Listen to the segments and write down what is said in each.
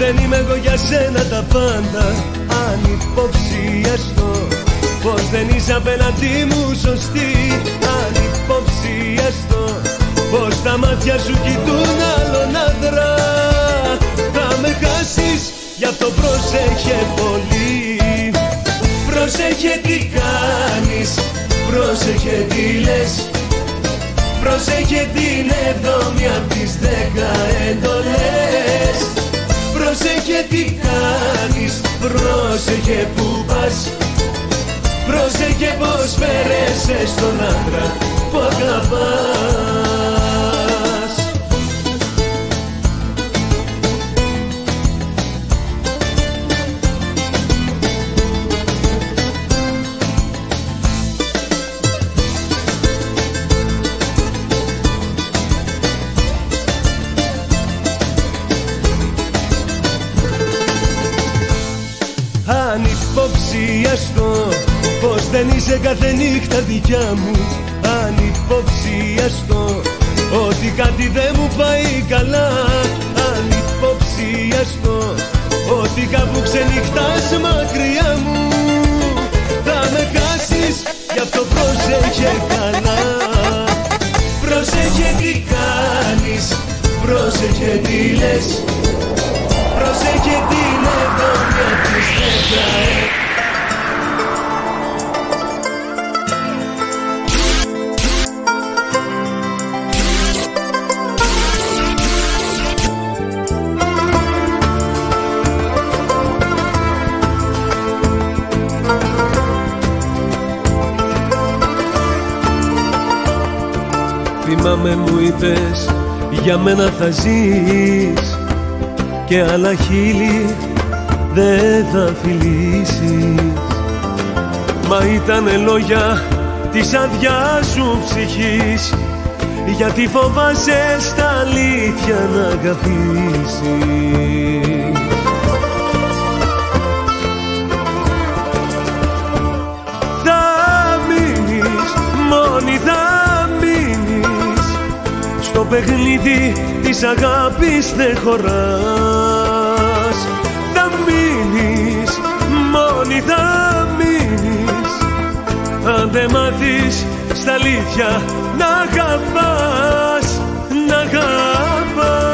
δεν είμαι εγώ για σένα τα πάντα, ανυποψίαστο. Πως δεν είσαι απέναντί μου σωστή, ανυποψίαστο. Πως τα μάτια σου κοιτούν άλλον άντρα. Θα με χάσεις, γι' αυτό πρόσεχε πολύ. Πρόσεχε τι κάνεις, πρόσεχε τι λες. Πρόσεχε την 7η απ' τις 10 εντολές. Πρόσεχε τι κάνεις, πρόσεχε που πας. Πρόσεχε πως φέρεσαι στον άντρα που αγαπάς. Ανυποψίαστο, πως δεν είσαι κάθε νύχτα δικιά μου. Ανυποψίαστο, ότι κάτι δεν μου πάει καλά. Ανυποψίαστο, ότι κάπου ξενυχτάς μακριά μου. Θα με χάσεις, γι' αυτό πρόσεχε καλά. Πρόσεχε τι κάνεις, πρόσεχε τι λες. Πρόσεχε την 7η απ' τις 10. Θυμάμαι μου είπες, για μένα θα ζεις και άλλα χείλη δεν θα φιλήσεις. Μα ήτανε λόγια της αδειάς σου ψυχής, γιατί φοβάσαι στα αλήθεια να αγαπήσεις. Θα μείνεις μόνη, θα μείνεις στο παιχνίδι της αγάπης δεν χωράς. Θα μείνεις μόνη, θα μείνεις αν δεν μάθεις στα αλήθεια να αγαπάς, να αγαπάς.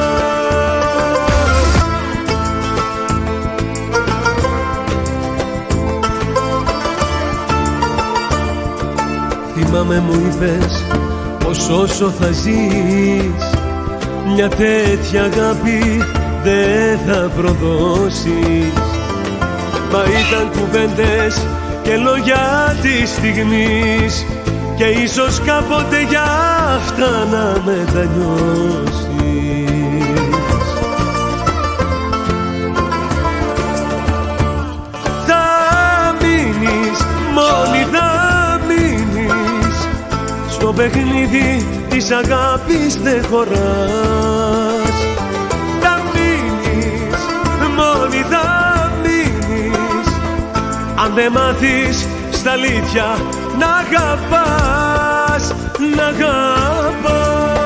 Θυμάμαι μου είπες πως όσο θα ζεις μια τέτοια αγάπη δεν θα προδώσεις. Μα ήταν κουβέντες και λόγια της στιγμής και ίσως κάποτε για αυτά να μετανιώσεις. Θα μείνεις μόνη, θα μείνεις στο παιχνίδι της αγάπης δεν χωράς. Θα μείνεις μόνη, θα μείνεις αν δεν μάθεις στα αλήθεια να αγαπάς, να αγαπάς.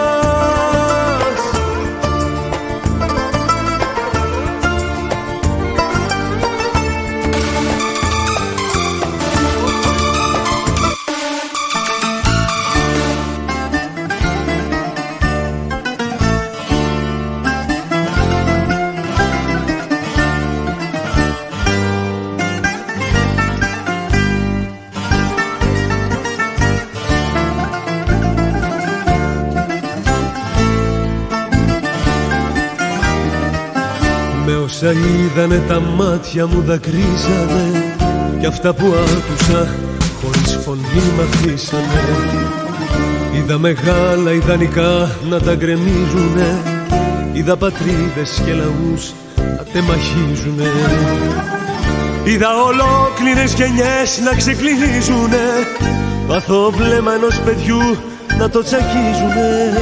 Όσα είδανε τα μάτια μου δακρύσανε κι αυτά που άκουσα χωρίς φωνή μ' αφήσανε. Είδα μεγάλα ιδανικά να τα γκρεμίζουνε, είδα πατρίδες και λαούς να τεμαχίζουνε. Είδα ολόκληρες γενιές να ξεκλείζουνε, παθό βλέμμα ενός παιδιού να το τσακίζουνε.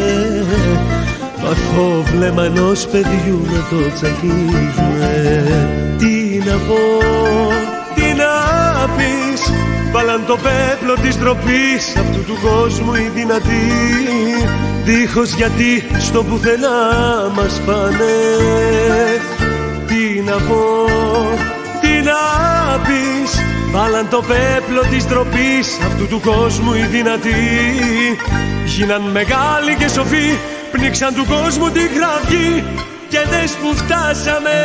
Παθό βλέμμα ενός παιδιού να το τσακίζουνε. Τι να πω, τι να πεις, βάλαν το πέπλο της ντροπής αυτού του κόσμου οι δυνατοί, δίχως γιατί στο πουθενά μας πάνε. να πω, τι να πεις. Βάλαν το πέπλο της ντροπής, αυτού του κόσμου οι δυνατοί. Γίναν μεγάλοι και σοφοί, πνίξαν του κόσμου τη κραυγή. Και δες που φτάσαμε.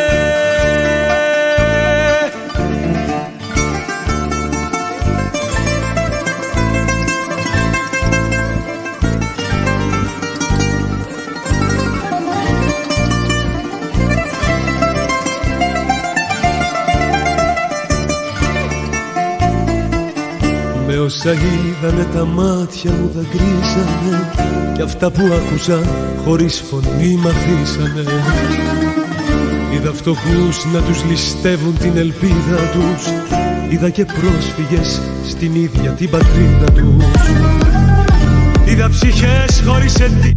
Με όσα είδανε τα μάτια μου δακρύσανε, κι αυτά που άκουσα χωρίς φωνή μ' αφήσανε. Είδα φτωχούς να τους ληστεύουν την ελπίδα τους, είδα και πρόσφυγες στην ίδια την πατρίδα τους. Είδα ψυχές χωρίς αιτία.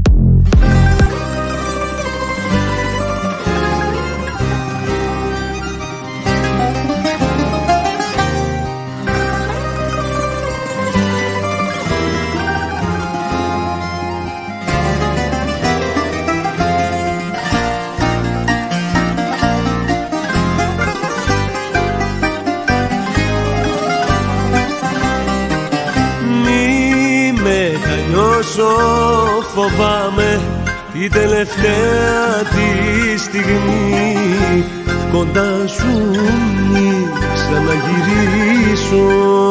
Φοβάμαι την τελευταία τη στιγμή κοντά σου μη ξαναγυρίσω.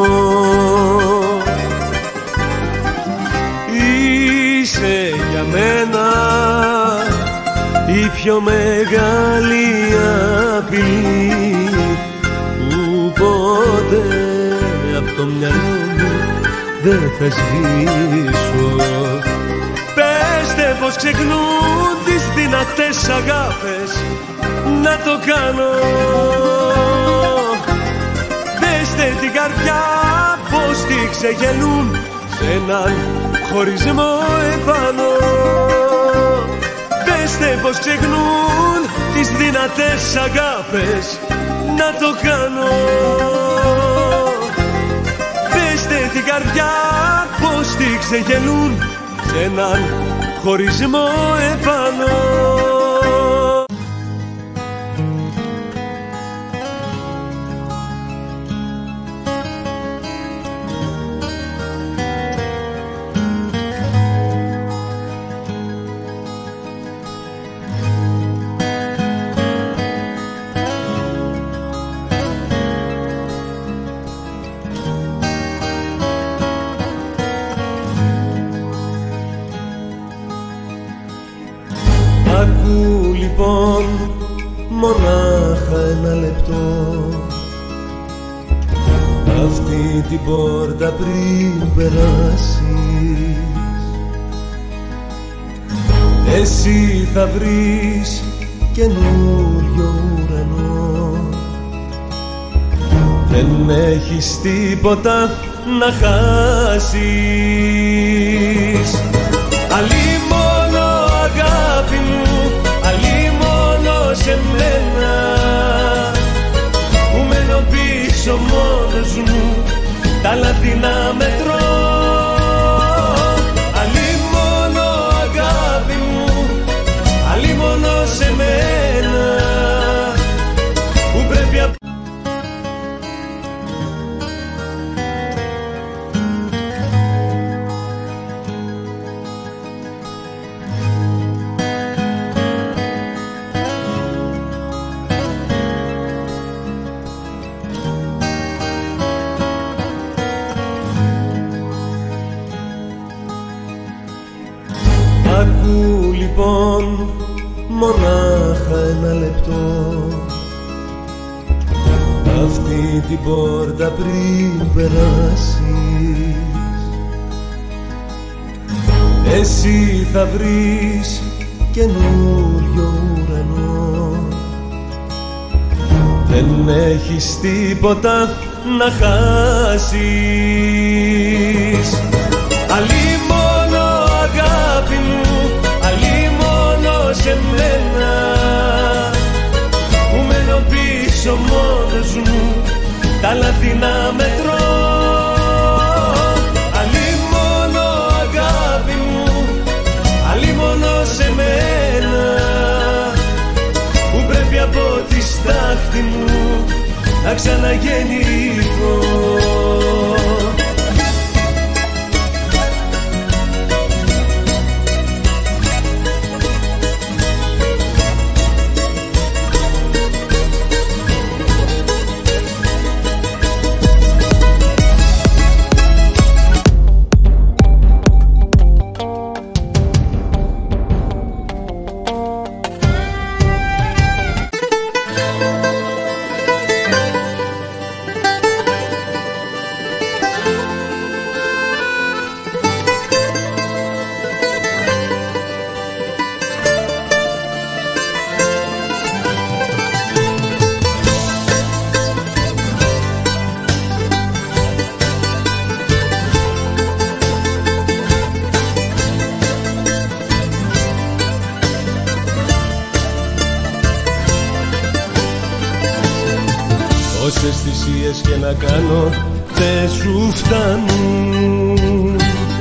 Είσαι για μένα η πιο μεγάλη απειλή που ποτέ απ' το μυαλό μου δεν θα σβήσω. Πέστε πως ξεχνούν τις δυνατές αγάπες να το κάνω. Πέστε την καρδιά πως τη ξεγελούν σε έναν χωρισμό επάνω. Πέστε πως ξεχνούν τις δυνατές αγάπες να το κάνω. Πέστε την καρδιά πως τη ξεγελούν σε έναν χωρισμό επάνω. Ακού λοιπόν μονάχα ένα λεπτό αυτή την πόρτα πριν περάσεις. Εσύ θα βρεις καινούριο ουρανό. Δεν έχεις τίποτα να χάσεις. Αλίμονο αγάπη μου, αλίμονο σε μένα που μένω πίσω μόνος μου, τα λάθη να μετρώ. Αλίμονο αγάπη μου, αλίμονο σε μένα που πρέπει. Ακού λοιπόν μονάχα ένα λεπτό αυτή την πόρτα πριν περάσεις. Εσύ θα βρεις καινούριο ουρανό. Δεν έχεις τίποτα να χάσεις. Αλίμονο αγάπη μου, αλίμονο σε μένα που μένω πίσω μόνος μου, τα λάθη να μετρώ. Αλίμονο αγάπη μου, αλίμονο σε μένα που πρέπει από τη στάση να'ρθει μου να ξαναγεννηθώ. Όσες θυσίες και να κάνω δεν σου φτάνουν.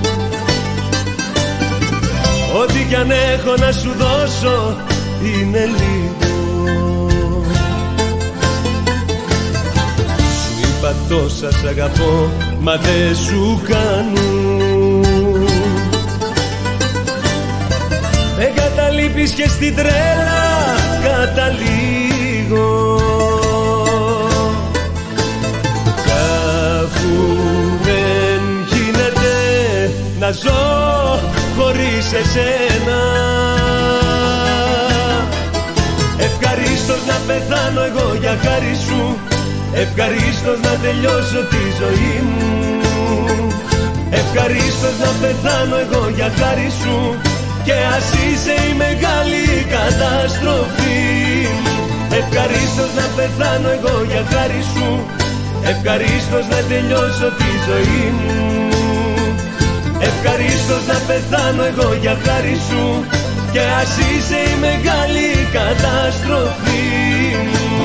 Ό,τι κι αν έχω να σου δώσω είναι λίγο. Σου είπα τόσα σ' αγαπώ, μα δεν σου κάνουν. Με καταλείπεις και στην τρέλα καταλήγω. Να ζω χωρίς εσένα. Ευχαρίστως να πεθάνω εγώ για χάρη σου. Ευχαρίστως να τελειώσω τη ζωή μου. Ευχαρίστως να πεθάνω εγώ για χάρη σου. Και ας είσαι η μεγάλη καταστροφή μου. Ευχαρίστως να πεθάνω εγώ για χάρη σου. Ευχαρίστως να τελειώσω τη ζωή μου. Ευχαρίστως να πεθάνω εγώ για χάρη σου. Και ας είσαι η μεγάλη καταστροφή μου.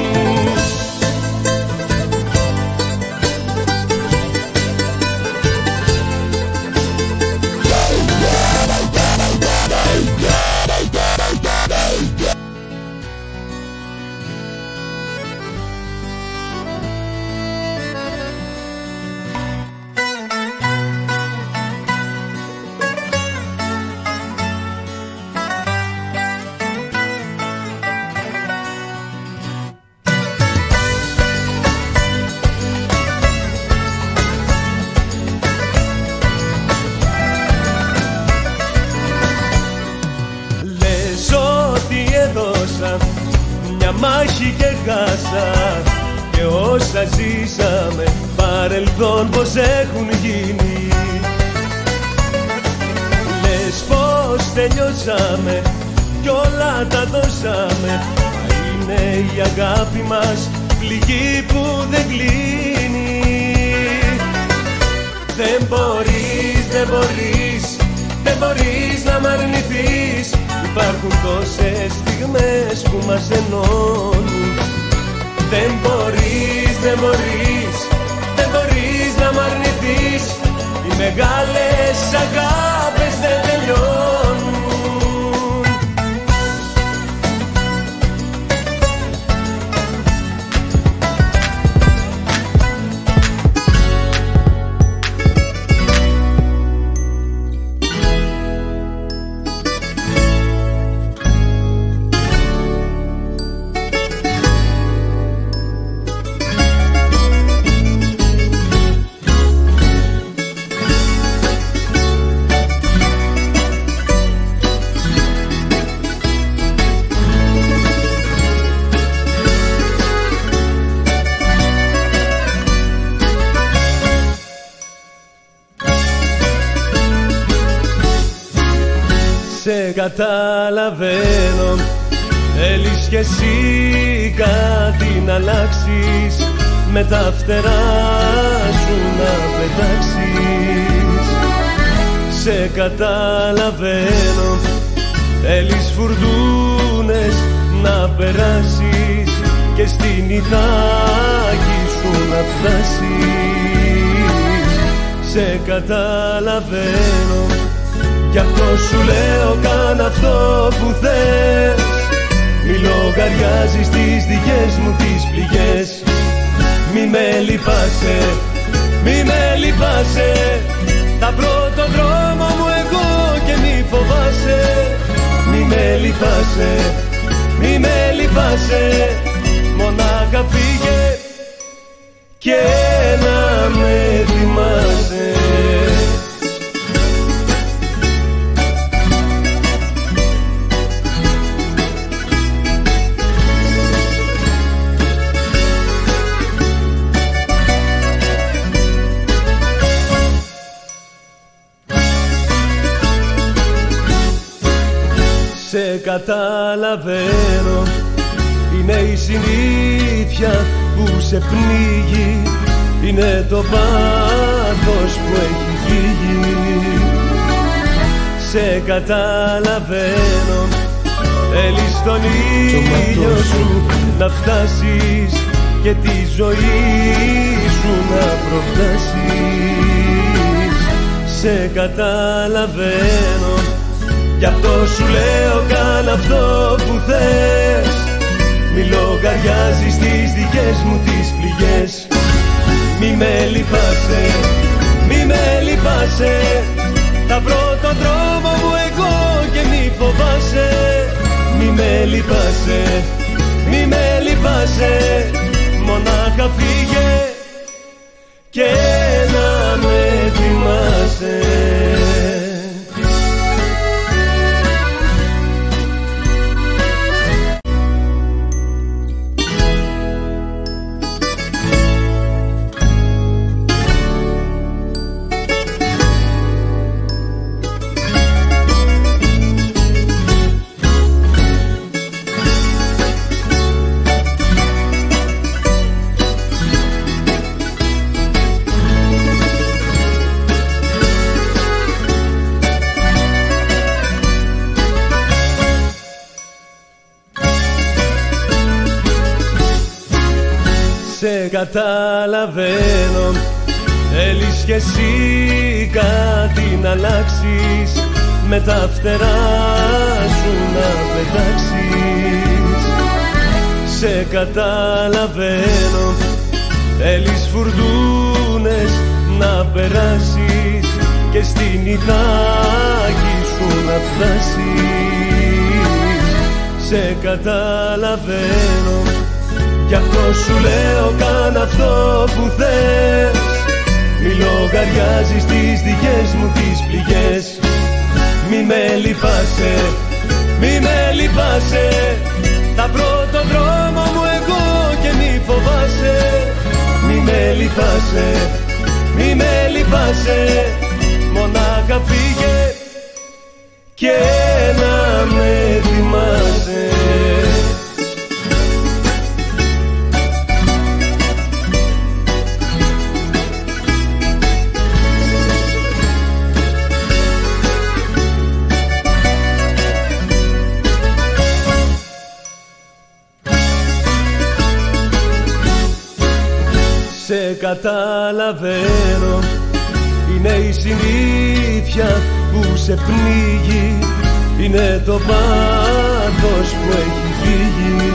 Μια μάχη και χάσα. Και όσα ζήσαμε παρελθόν πως έχουν γίνει. Λες πως τελειώσαμε κι όλα τα δώσαμε. Μα είναι η αγάπη μας πληγή που δεν κλείνει. Δεν μπορείς, δεν μπορείς, δεν μπορείς να μ' αρνηθείς. Υπάρχουν τόσες στιγμές που μας ενώνουν. Δεν μπορείς, δεν μπορείς, δεν μπορείς να μ' αρνηθείς. Οι μεγάλες αγάπες δεν τελειώνουν. Σε καταλαβαίνω, θέλεις κι εσύ κάτι να αλλάξεις. Με τα φτερά σου να πετάξεις. Σε καταλαβαίνω, θέλεις φουρτούνες να περάσεις. Και στην Ιθάκη σου να φτάσεις. Σε καταλαβαίνω, γι' αυτό σου λέω κάν' αυτό που θες. μη λογαριάζεις τις δικές μου τις πληγές. Μη με λυπάσαι, μη με λυπάσαι, θα βρω τον δρόμο μου εγώ και μη φοβάσαι. Μη με λυπάσαι, μη με λυπάσαι, μονάχα φύγε και να με θυμάσαι. Σε καταλαβαίνω, είναι η συνήθεια που σε πνίγει, είναι το πάθος που έχει φύγει. Σε καταλαβαίνω, θέλεις τον ήλιο σου να φτάσεις και τη ζωή σου να προφτάσεις. Σε καταλαβαίνω, γι' αυτό σου λέω κάνε αυτό που θες. Μη λογαριάζεις τις δικές μου τις πληγές. Μη με λυπάσαι, μη με λυπάσαι, θα βρω τον δρόμο μου εγώ και μη φοβάσαι. Μη με λυπάσαι, μη με λυπάσαι, μονάχα φύγε και να με θυμάσαι. Σε καταλαβαίνω, θέλεις κι εσύ κάτι να αλλάξεις, με τα φτερά σου να πετάξεις. Σε καταλαβαίνω, θέλεις φουρτούνες να περάσεις και στην Ιθάκη σου να φτάσεις. Σε καταλαβαίνω, γι' αυτό σου λέω κάνε αυτό που θες. Μη λογαριάζεις τις δικές μου τις πληγές. Μη με λυπάσαι, μη με λυπάσαι, θα βρω τον δρόμο μου εγώ και μη φοβάσαι. Μη με λυπάσαι, μη με λυπάσαι, μονάχα φύγε και να με θυμάσαι. Σε καταλαβαίνω, είναι η συνήθεια που σε πνίγει, είναι το πάθος που έχει φύγει.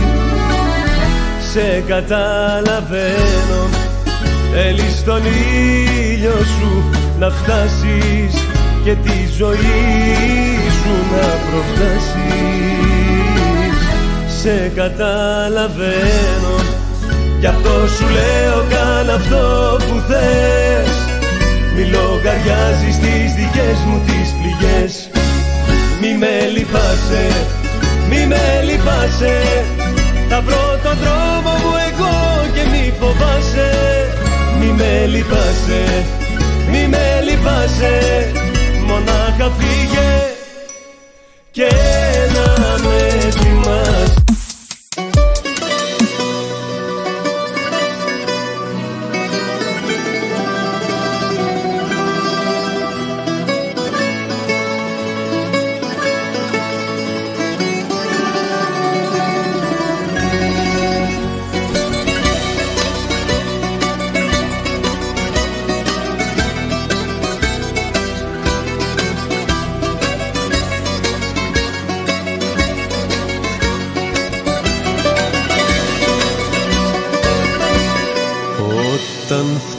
Σε καταλαβαίνω, θέλεις τον ήλιο σου να φτάσεις και τη ζωή σου να προφτάσεις. Σε καταλαβαίνω, γι' αυτό σου λέω κάνε αυτό που θες. Μη λογαριάζεις τις δικές μου τις πληγές. Μη με λυπάσαι, μη με λυπάσαι, θα βρω τον δρόμο μου εγώ και μη φοβάσαι. Μη με λυπάσαι, μη με λυπάσαι, μονάχα φύγε και να με θυμάσαι.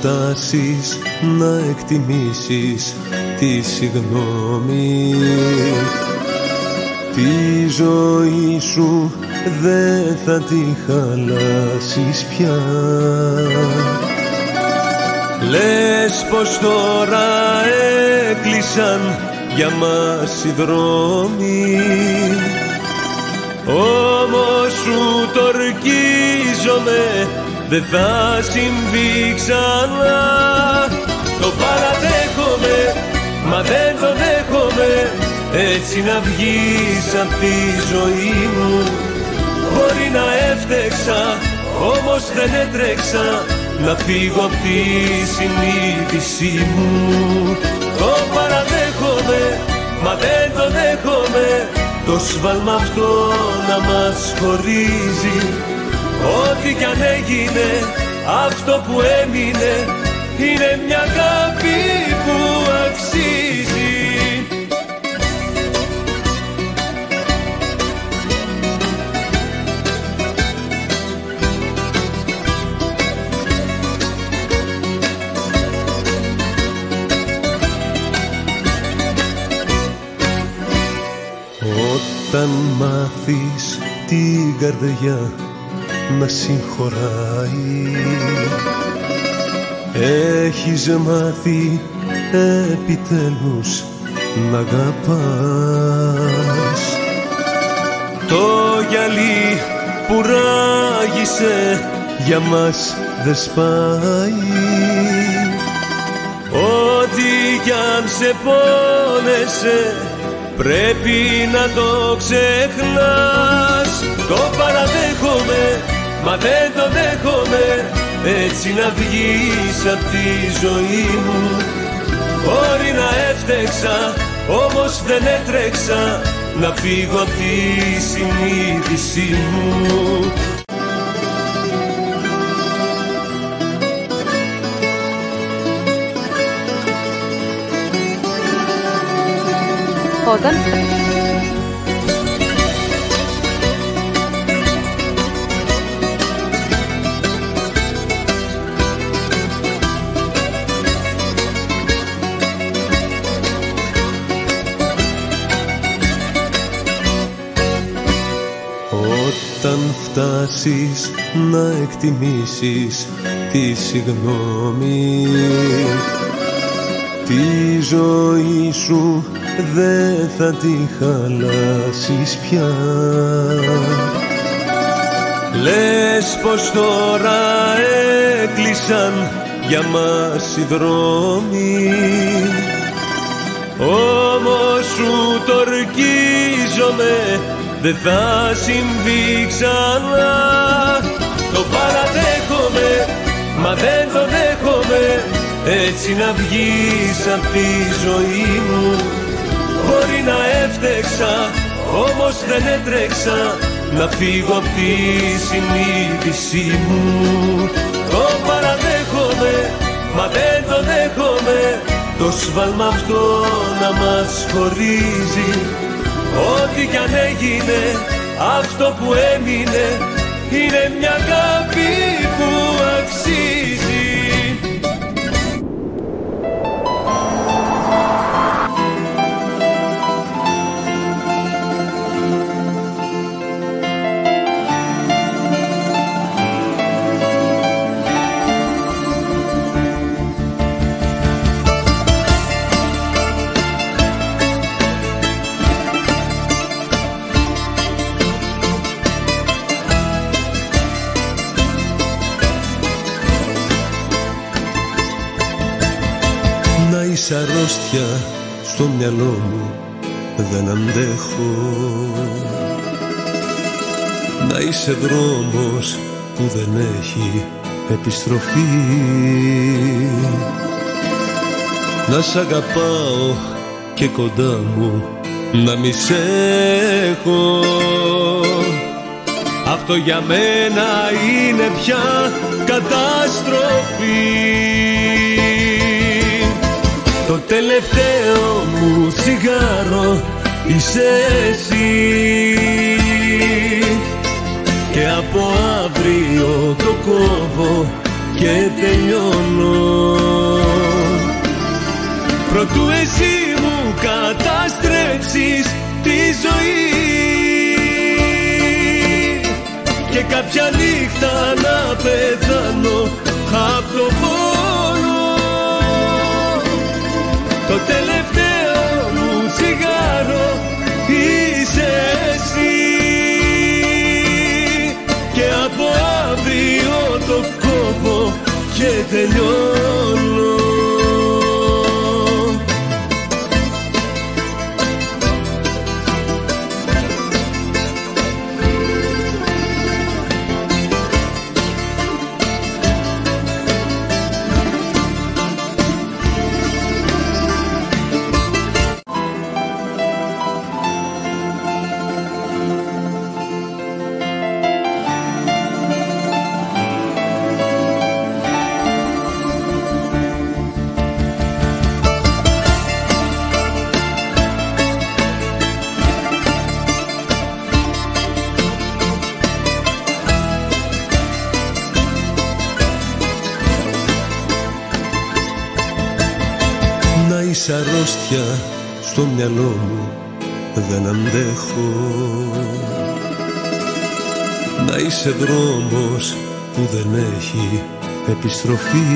φτάσεις να εκτιμήσεις τη συγγνώμη, τη ζωή σου δεν θα τη χαλάσεις πια. Λες πως τώρα έκλεισαν για μας οι δρόμοι, όμως σου το ορκίζομαι, δεν θα συμβεί ξανά. Το παραδέχομαι, μα δεν το δέχομαι, έτσι να βγεις απ' τη ζωή μου. Μπορεί να έφτεξα, όμως δεν έτρεξα να φύγω απ' τη συνείδησή μου. Το παραδέχομαι, μα δεν το δέχομαι, το σφάλμα αυτό να μας χωρίζει. Ό,τι κι αν έγινε, αυτό που έμεινε είναι μια αγάπη που αξίζει. Όταν μάθεις την καρδιά να συγχωράει, έχεις μάθει επιτέλους να αγαπάς. Το γυαλί που ράγισε για μας δεν σπάει, ό,τι κι αν σε πόνεσε πρέπει να το ξεχνάς. Το παραδέχομαι, μα δεν το δέχομαι, έτσι να βγεις απ' τη ζωή μου. Μπορεί να έφτεξα, όμως δεν έτρεξα να φύγω απ' τη συνείδησή μου. Όταν φτάσεις να εκτιμήσεις τη συγγνώμη, τη ζωή σου δεν θα τη χαλάσεις πια. Λες πως τώρα έκλεισαν για μας οι δρόμοι, όμως σου το ορκίζομαι, δεν θα συμβεί ξανά. Το παραδέχομαι, μα δεν το δέχομαι, έτσι να βγεις απ' τη ζωή μου. Μπορεί να έφτεξα, όμως δεν έτρεξα να φύγω απ' τη συνείδησή μου. Το παραδέχομαι, μα δεν το δέχομαι, το σφάλμα αυτό να μας χωρίζει. Ό,τι κι αν έγινε, αυτό που έμεινε είναι μια αγάπη που αξίζει. Είσαι αρρώστια στο μυαλό μου, δεν αντέχω. Να είσαι δρόμος που δεν έχει επιστροφή, να σ' αγαπάω και κοντά μου να μη σ' έχω. Αυτό για μένα είναι πια καταστροφή. Το τελευταίο μου τσιγάρο είσαι εσύ, και από αύριο το κόβω και τελειώνω. Προτού εσύ μου καταστρέψεις τη ζωή και κάποια νύχτα να πεθάνω απ' το πόνο. Το τελευταίο μου τσιγάρο είσαι εσύ και από αύριο το κόβω και τελειώνω. Είσαι αρρώστια στο μυαλό μου, δεν αντέχω. Να είσαι δρόμος που δεν έχει επιστροφή.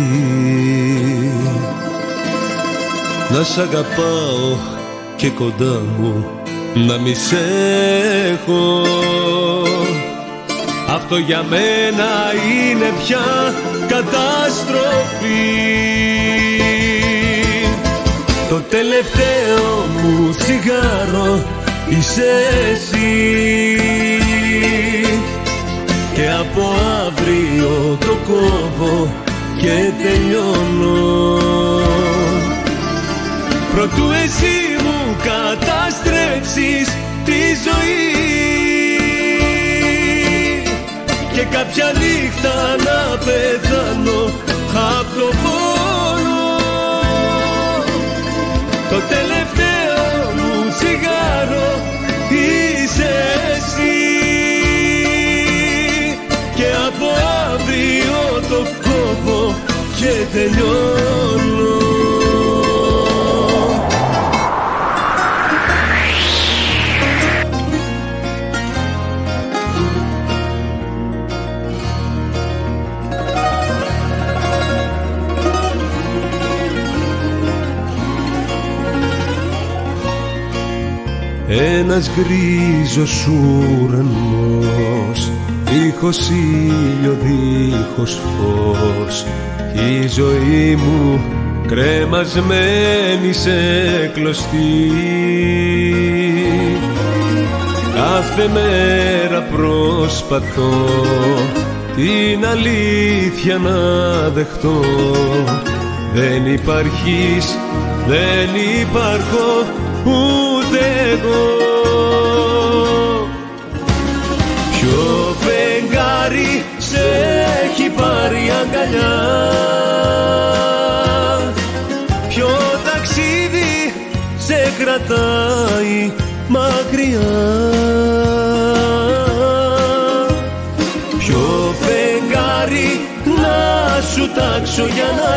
Να σ' αγαπάω και κοντά μου να μη σ' έχω. Αυτό για μένα είναι πια καταστροφή. Το τελευταίο μου τσιγάρο είσαι εσύ και από αύριο το κόβω και τελειώνω. Προτού εσύ μου καταστρέψεις τη ζωή και κάποια νύχτα να πεθάνω απ' το πόνο. Το τελευταίο μου τσιγάρο είσαι εσύ και από αύριο το κόβω και τελειώνω. Ένας γκρίζος ουρανός, δίχως ήλιο, δίχως φως, η ζωή μου κρεμασμένη σε κλωστή. Κάθε μέρα προσπαθώ την αλήθεια να δεχτώ. Δεν υπάρχεις, δεν υπάρχω ούτε εγώ. Ποιο φεγγάρι σε έχει πάρει αγκαλιά, ποιο ταξίδι σε κρατάει μακριά, ποιο φεγγάρι να σου τάξω για να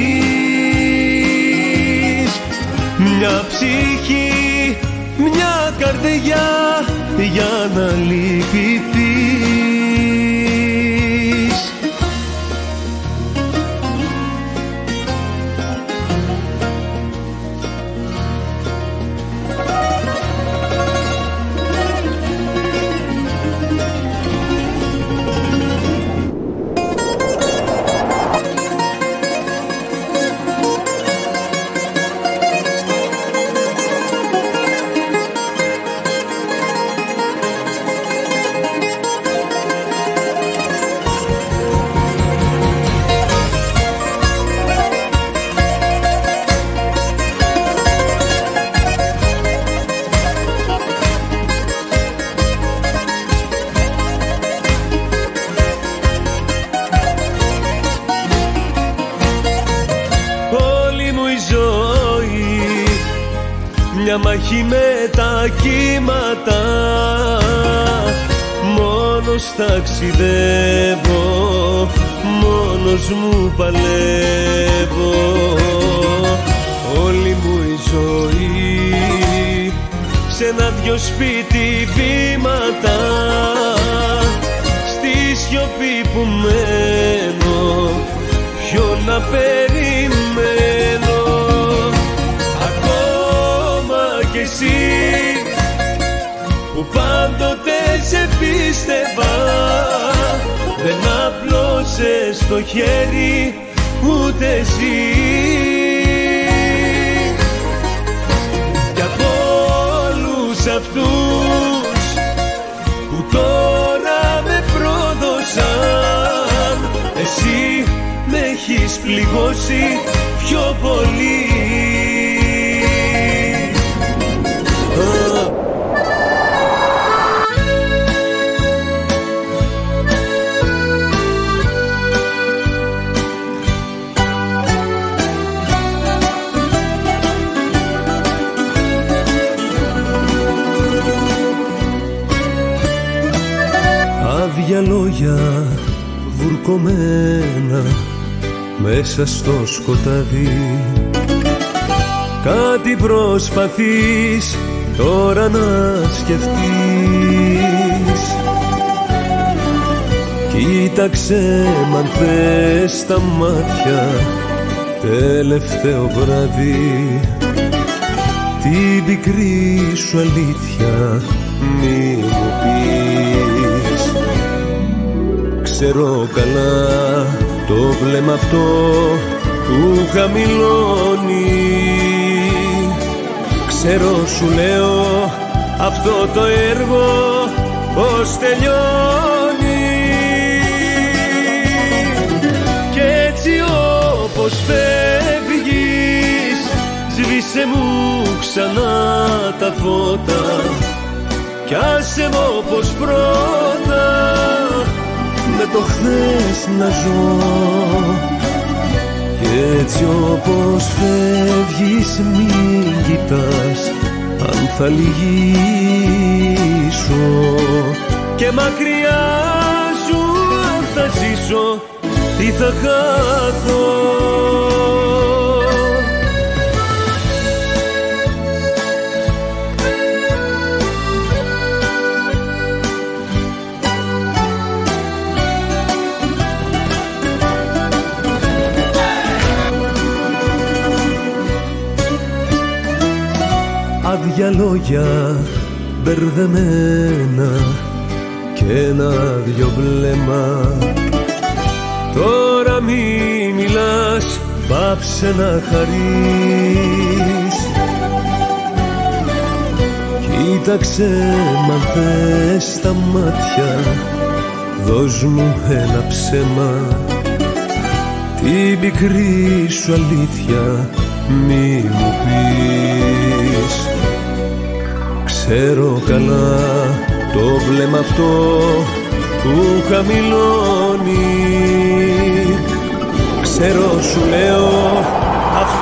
έρθεις. Μια ψυχή, μια καρδιά για να λυπηθείς. Μια μάχη με τα κύματα, μόνος ταξιδεύω μόνος μου παλεύω. Όλη μου η ζωή σε ένα δυο σπίτι βήματα, στη σιωπή που μένω, ποιο να περιμένω. Ακόμα κι εσύ που πάντοτε σε πίστευα, δεν απλώσες το χέρι ούτε εσύ. Κι από όλους αυτούς που τώρα με πρόδωσαν, εσύ με έχεις πληγώσει πιο πολύ. Άδεια λόγια βουρκωμένα μέσα στο σκοτάδι, κάτι προσπαθείς τώρα να σκεφτείς. Κοίταξε μ' αν θες τα μάτια τελευταίο βράδυ, την πικρή σου αλήθεια μη μου πεις. Ξέρω καλά το βλέμμα αυτό που χαμηλώνει, ξέρω σου λέω αυτό το έργο πως τελειώνει. Κι έτσι όπως φεύγεις, σβήσε μου ξανά τα φώτα κι άσε μου όπως πρώτα με το χθες να ζω. Κι έτσι όπως φεύγεις μην κοιτάς αν θα λυγίσω, και μακριά σου αν θα ζήσω ή θα χάθω. Άδεια λόγια μπερδεμένα και ένα δυο βλέμμα. Τώρα μη μιλάς, πάψε να χαρείς. Κοίταξε μ' αν θες τα μάτια, δώσ' μου ένα ψέμα, την πικρή σου αλήθεια μη μου πεις. Ξέρω καλά το βλέμμα αυτό που χαμηλώνει, ξέρω σου λέω αυτό.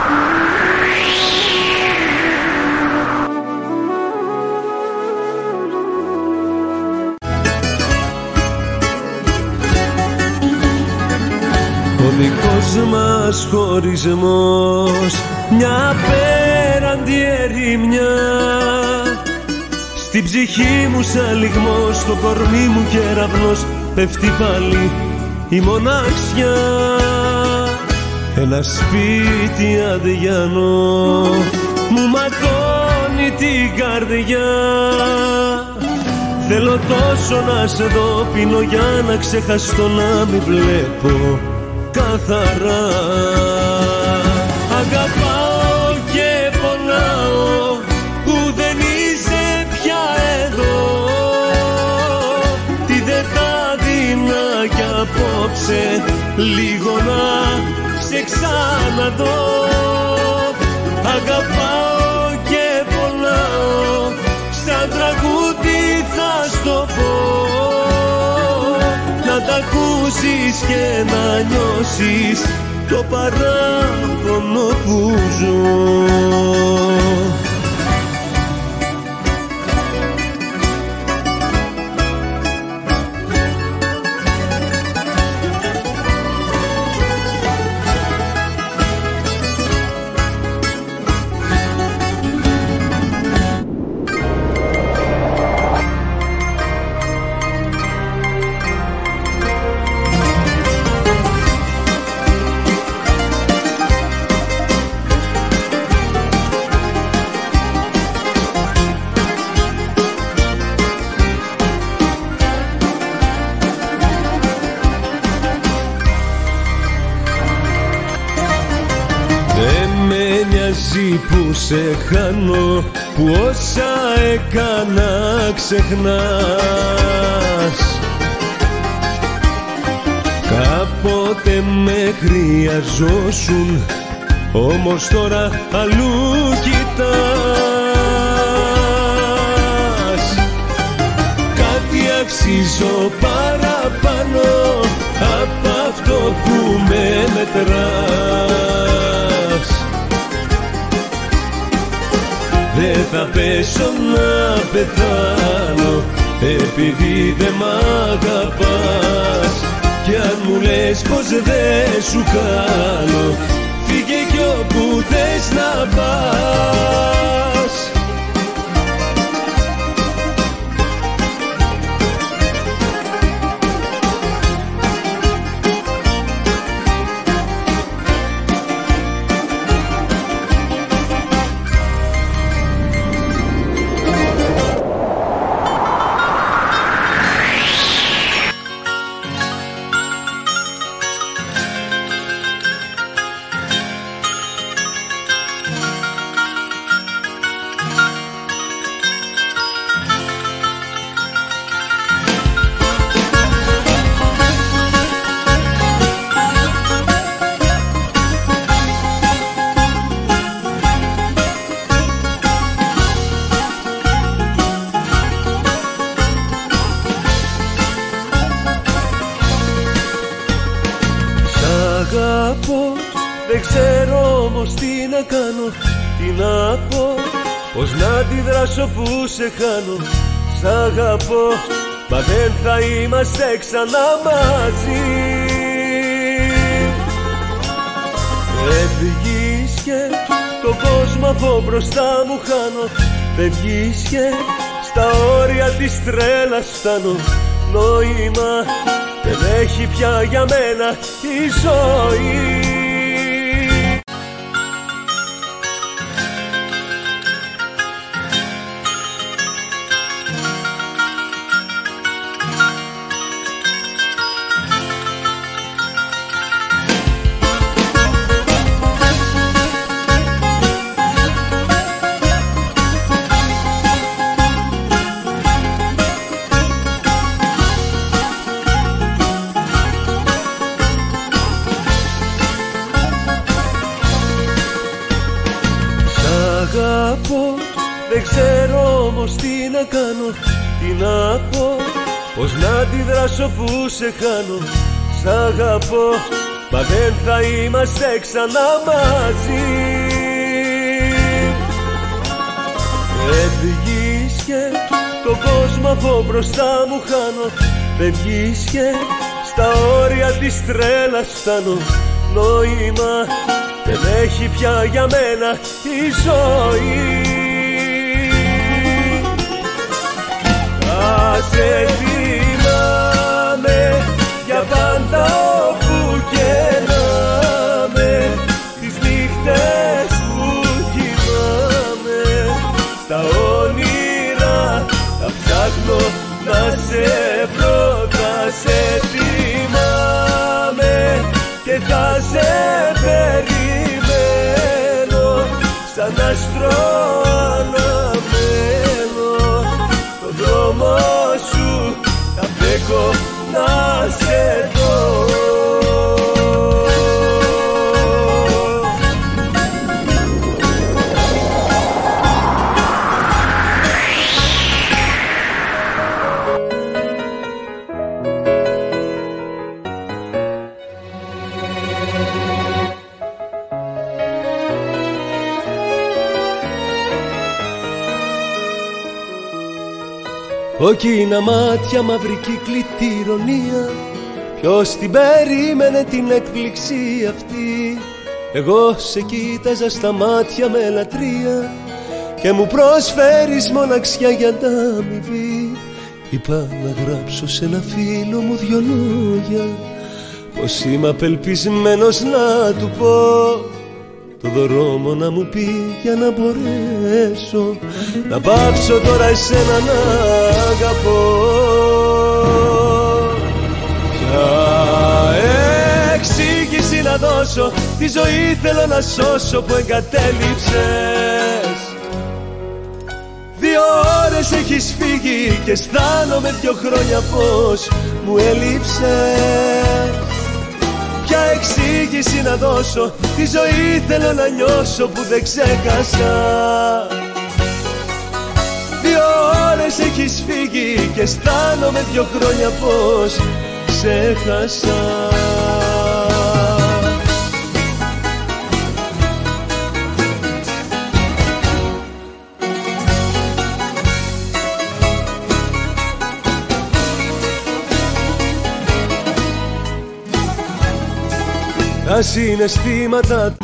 Ο δικός μας χωρισμός, μια απέραντη ερημιά, στην ψυχή μου σαν λυγμός, στο κορμί μου κεραυνός, πέφτει πάλι η μοναξιά. Ένα σπίτι αδιανό μου ματώνει την καρδιά. Θέλω τόσο να σε δω, πίνω για να ξεχαστώ, να μην βλέπω καθαρά. Αγαπάω και πονάω που δεν είσαι πια εδώ. Τι δεν θα δίνα κι απόψε λίγο να σε ξαναδώ. Αγαπάω και πονάω, σαν τραγούδι θα στο πω, να τ' ακούσεις και να νιώσεις το παράπονο που ζω. εσύ που σε χάνω, που όσα έκανα ξεχνάς. Κάποτε με χρειαζόσουν, όμως τώρα αλλού κοιτάς. Κάτι αξίζω παραπάνω απ' αυτό που με μετράς. Δεν θα πέσω να πεθάνω επειδή δεν μ' αγαπάς. Κι αν μου λες πως δεν σου κάνω, φύγε κι όπου θες να πας. Δεν ξέρω όμως τι να κάνω, τι να πω, πως να αντιδράσω που σε χάνω. Σ' αγαπώ, μα δεν θα είμαστε ξανά μαζί. Φεύγεις και τον κόσμο από μπροστά μου χάνω. Φεύγεις και στα όρια της τρέλας φτάνω. Νόημα δεν έχει πια για μένα η ζωή. Δεν ξέρω όμως τι να κάνω, τι να πω, πως να αντιδράσω που σε χάνω. Σ' αγαπώ, μα δεν θα είμαστε ξανά μαζί. Φεύγεις και τον κόσμο από μπροστά μου χάνω. Φεύγεις και στα όρια της τρέλας φτάνω. Νόημα δεν έχει πια για μένα η ζωή. Σε θυμάμαι για πάντα όπου και να με, τις νύχτες που κοιμάμαι. Στα όνειρα θα ψάχνω να σε βρω. Θα σε θυμάμαι και θα σε περιμένω. Σαν άστρο αναμένω τον δρόμο σου, θα φέγω να σε δω. Κόκκινα μάτια, μαύρη κύκλητη ηρωνία. Ποιος την περίμενε την έκπληξη αυτή? Εγώ σε κοίταζα στα μάτια με λατρεία και μου προσφέρεις μοναξιά για ανταμοιβή. Είπα να γράψω σε ένα φίλο μου δυο λόγια, πως είμαι απελπισμένος να του πω το δρόμο να μου πει για να μπορέσω να πάψω τώρα εσένα να αγαπώ. Ποια εξήγηση εξήγηση να δώσω, τη ζωή θέλω να σώσω που εγκατέλειψες. 2 ώρες έχεις φύγει και αισθάνομαι 2 χρόνια πως μου έλειψες. Ποια εξήγηση να δώσω, τη ζωή θέλω να νιώσω που δεν ξέχασα. 2 ώρες έχεις φύγει και αισθάνομαι 2 χρόνια πως ξέχασα. Τα συναισθήματα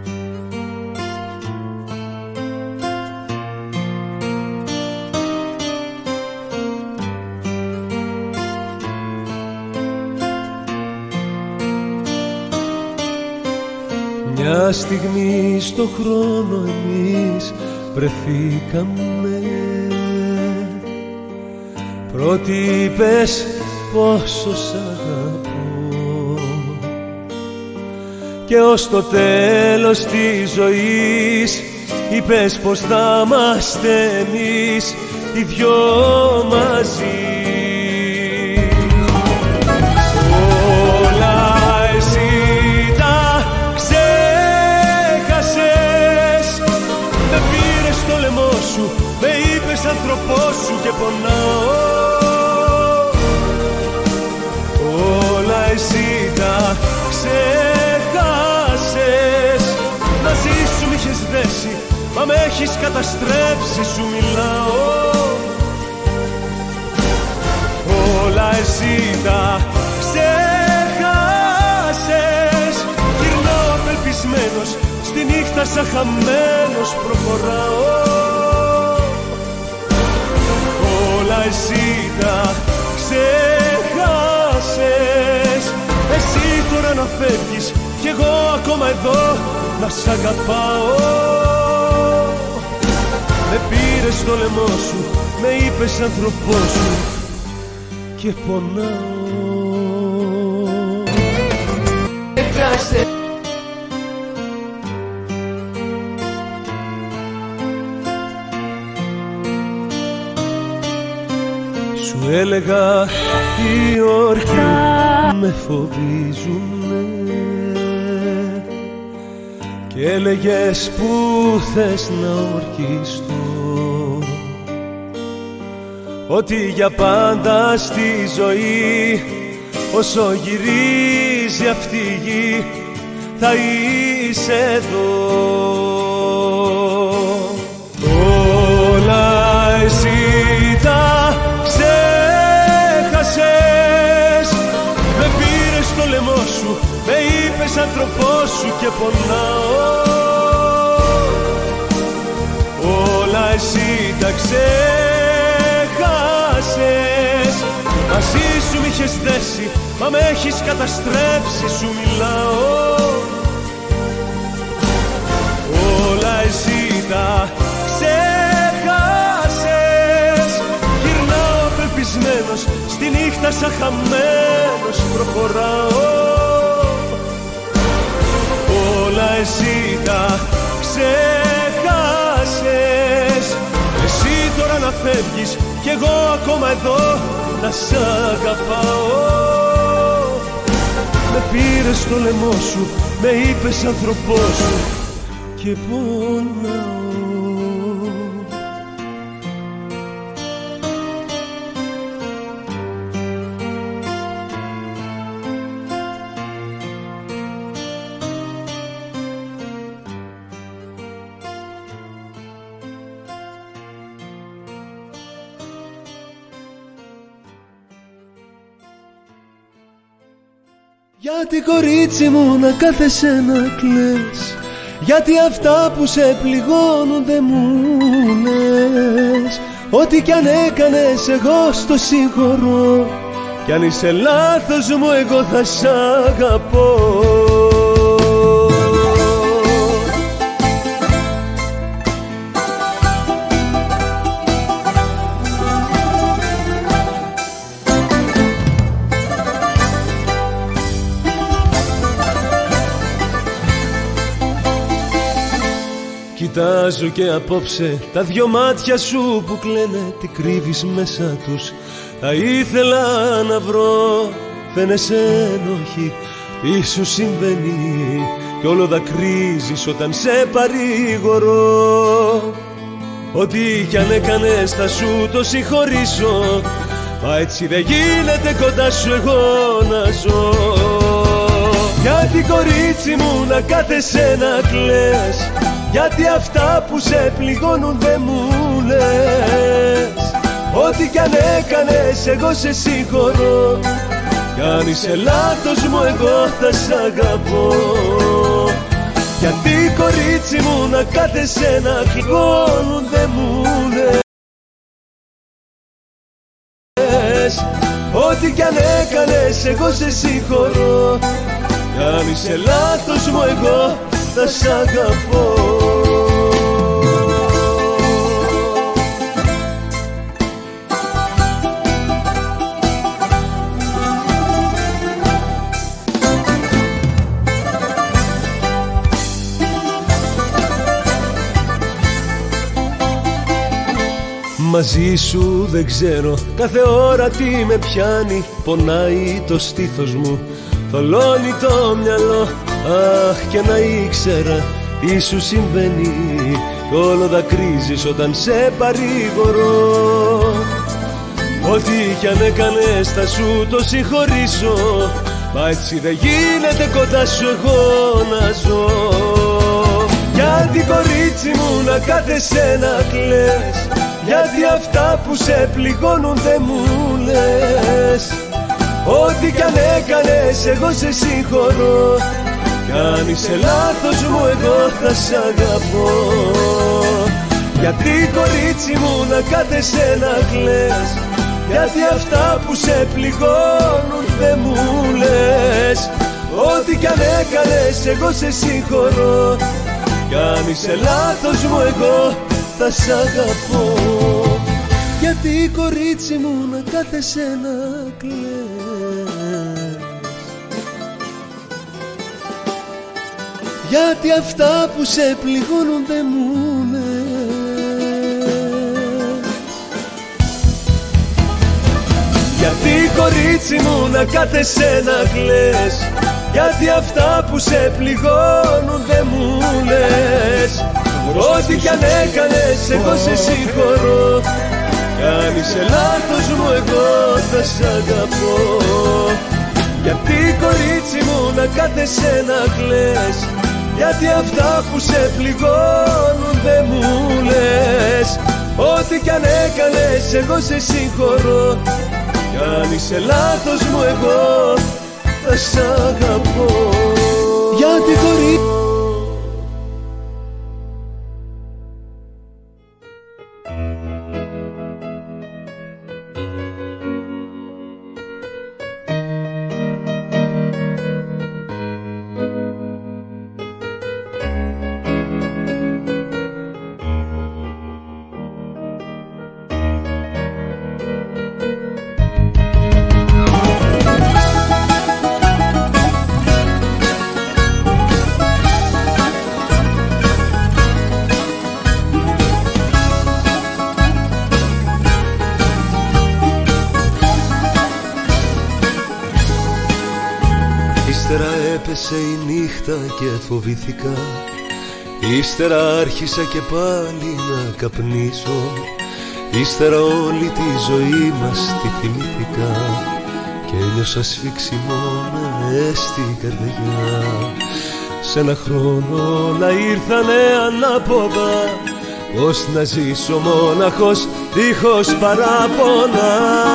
μια στιγμή στο χρόνο εμείς βρεθήκαμε. Πρώτη είπες πόσο σ' αγαπώ και ως το τέλος της ζωής είπες πως θα είμαστε εμείς οι 2 μαζί. Όλα εσύ τα ξέχασες. Με πήρες στο λαιμό σου, με είπες άνθρωπός σου και πονάω. Όλα εσύ τα ξέχασες. Μαζί σου μ' είχες δέσει, μα με έχεις καταστρέψει, σου μιλάω. Όλα εσύ τα ξέχασες. Γυρνάω απελπισμένος, στη νύχτα σαν χαμένος προχωράω. Όλα εσύ τα ξέχασες. Εσύ τώρα να φεύγεις κι εγώ ακόμα εδώ να σ' αγαπάω. Με πήρες στο λαιμό σου, με είπες άνθρωπός σου και πονάω. Σου έλεγα οι όρκοι με φοβίζουνε και έλεγες που θες να ορκιστώ, ότι για πάντα στη ζωή όσο γυρίζει αυτή η γη θα είσαι εδώ. Όλα εσύ τα ξέχασες. Με πήρες στο λαιμό σου, με είπες άνθρωπός σου και πονάω. Όλα εσύ τα ξέχασες. Μαζί σου μ' είχες δέσει, μα με έχεις καταστρέψει, σου μιλάω. Όλα εσύ τα ξέχασες. Γυρνάω απελπισμένος, στη νύχτα σαν χαμένος προχωράω. Όλα εσύ τα ξέχασες. Εσύ τώρα να φεύγεις κι εγώ ακόμα εδώ να σ' αγαπάω. Με πήρες στο λαιμό σου, με είπες άνθρωπός σου και πονάω. Γιατί κορίτσι μου να κάθεσαι να κλαις, γιατί αυτά που σε πληγώνουν δεν μου λες. Ό,τι κι αν έκανες εγώ στο συγχωρώ, κι αν είσαι λάθος μου εγώ θα σ' αγαπώ. Κοιτάζω και απόψε τα δυο μάτια σου που κλαίνε, τι κρύβεις μέσα τους. Θα ήθελα να βρω, φαίνεσαι ένοχη, τι σου συμβαίνει κι όλο δακρύζεις όταν σε παρηγορώ. Ό,τι κι αν έκανες θα σου το συγχωρήσω, μα έτσι δεν γίνεται κοντά σου εγώ να ζω. Γιατί κορίτσι μου να κάθεσαι να κλαις, γιατί αυτά που σε πληγώνουν δεν μου λες. Ό,τι κι αν έκανες εγώ σε συγχωρώ, κι αν είσαι λάθος μου εγώ θα σ' αγαπώ. Γιατί κορίτσι μου να κάθεσαι να πληγώνουν δεν μου λες. Ό,τι κι αν έκανες εγώ σε συγχωρώ, κι αν είσαι λάθος μου εγώ θα σ' αγαπώ. Μαζί σου δεν ξέρω κάθε ώρα τι με πιάνει, πονάει το στήθος μου, θολώνει το μυαλό. Αχ, και να ήξερα τι σου συμβαίνει κι όλο δακρύζεις όταν σε παρηγορώ. Ό,τι κι αν έκανες θα σου το συγχωρήσω, μα έτσι δεν γίνεται κοντά σου εγώ να ζω. Γιατί κορίτσι μου να κάθεσαι να κλαις, γιατί αυτά που σε πληγώνουν δεν μου λες. Ό,τι κι αν έκανες εγώ σε συγχωρώ, κι αν είσαι λάθος μου εγώ θα σ' αγαπώ. Γιατί κορίτσι μου να κάθεσαι να κλαις, γιατί αυτά που σε πληγώνουν δεν μου λες. Ό,τι κι αν έκανες εγώ σε συγχωρώ, κι αν είσαι λάθος μου εγώ θα σ' αγαπώ. Γιατί κορίτσι μου να κάθεσαι να κλαις, γιατί αυτά που σε πληγώνουν δεν μου λες. Γιατί κορίτσι μου να κάθεσαι να κλαις, γιατί αυτά που σε πληγώνουν δεν μου λες. Ό,τι κι αν έκανες εγώ σε συγχωρώ, κι αν είσαι λάθος μου εγώ θα σ' αγαπώ. Γιατί κορίτσι μου να κάθεσαι να κλαις, γιατί αυτά που σε πληγώνουν δεν μου λες. Ό,τι κι αν έκανες εγώ σε συγχωρώ, κι αν είσαι λάθος μου εγώ θα σ' αγαπώ. Γιατί κορίτσι έπεσε η νύχτα και φοβήθηκα, ύστερα άρχισα και πάλι να καπνίσω. Ύστερα όλη τη ζωή μας τη θυμήθηκα και ένιωσα σφίξιμο μες στην καρδιά. Σ' ένα χρόνο όλα ήρθανε ανάποδα, πώς να ζήσω μόναχος δίχως παράπονα.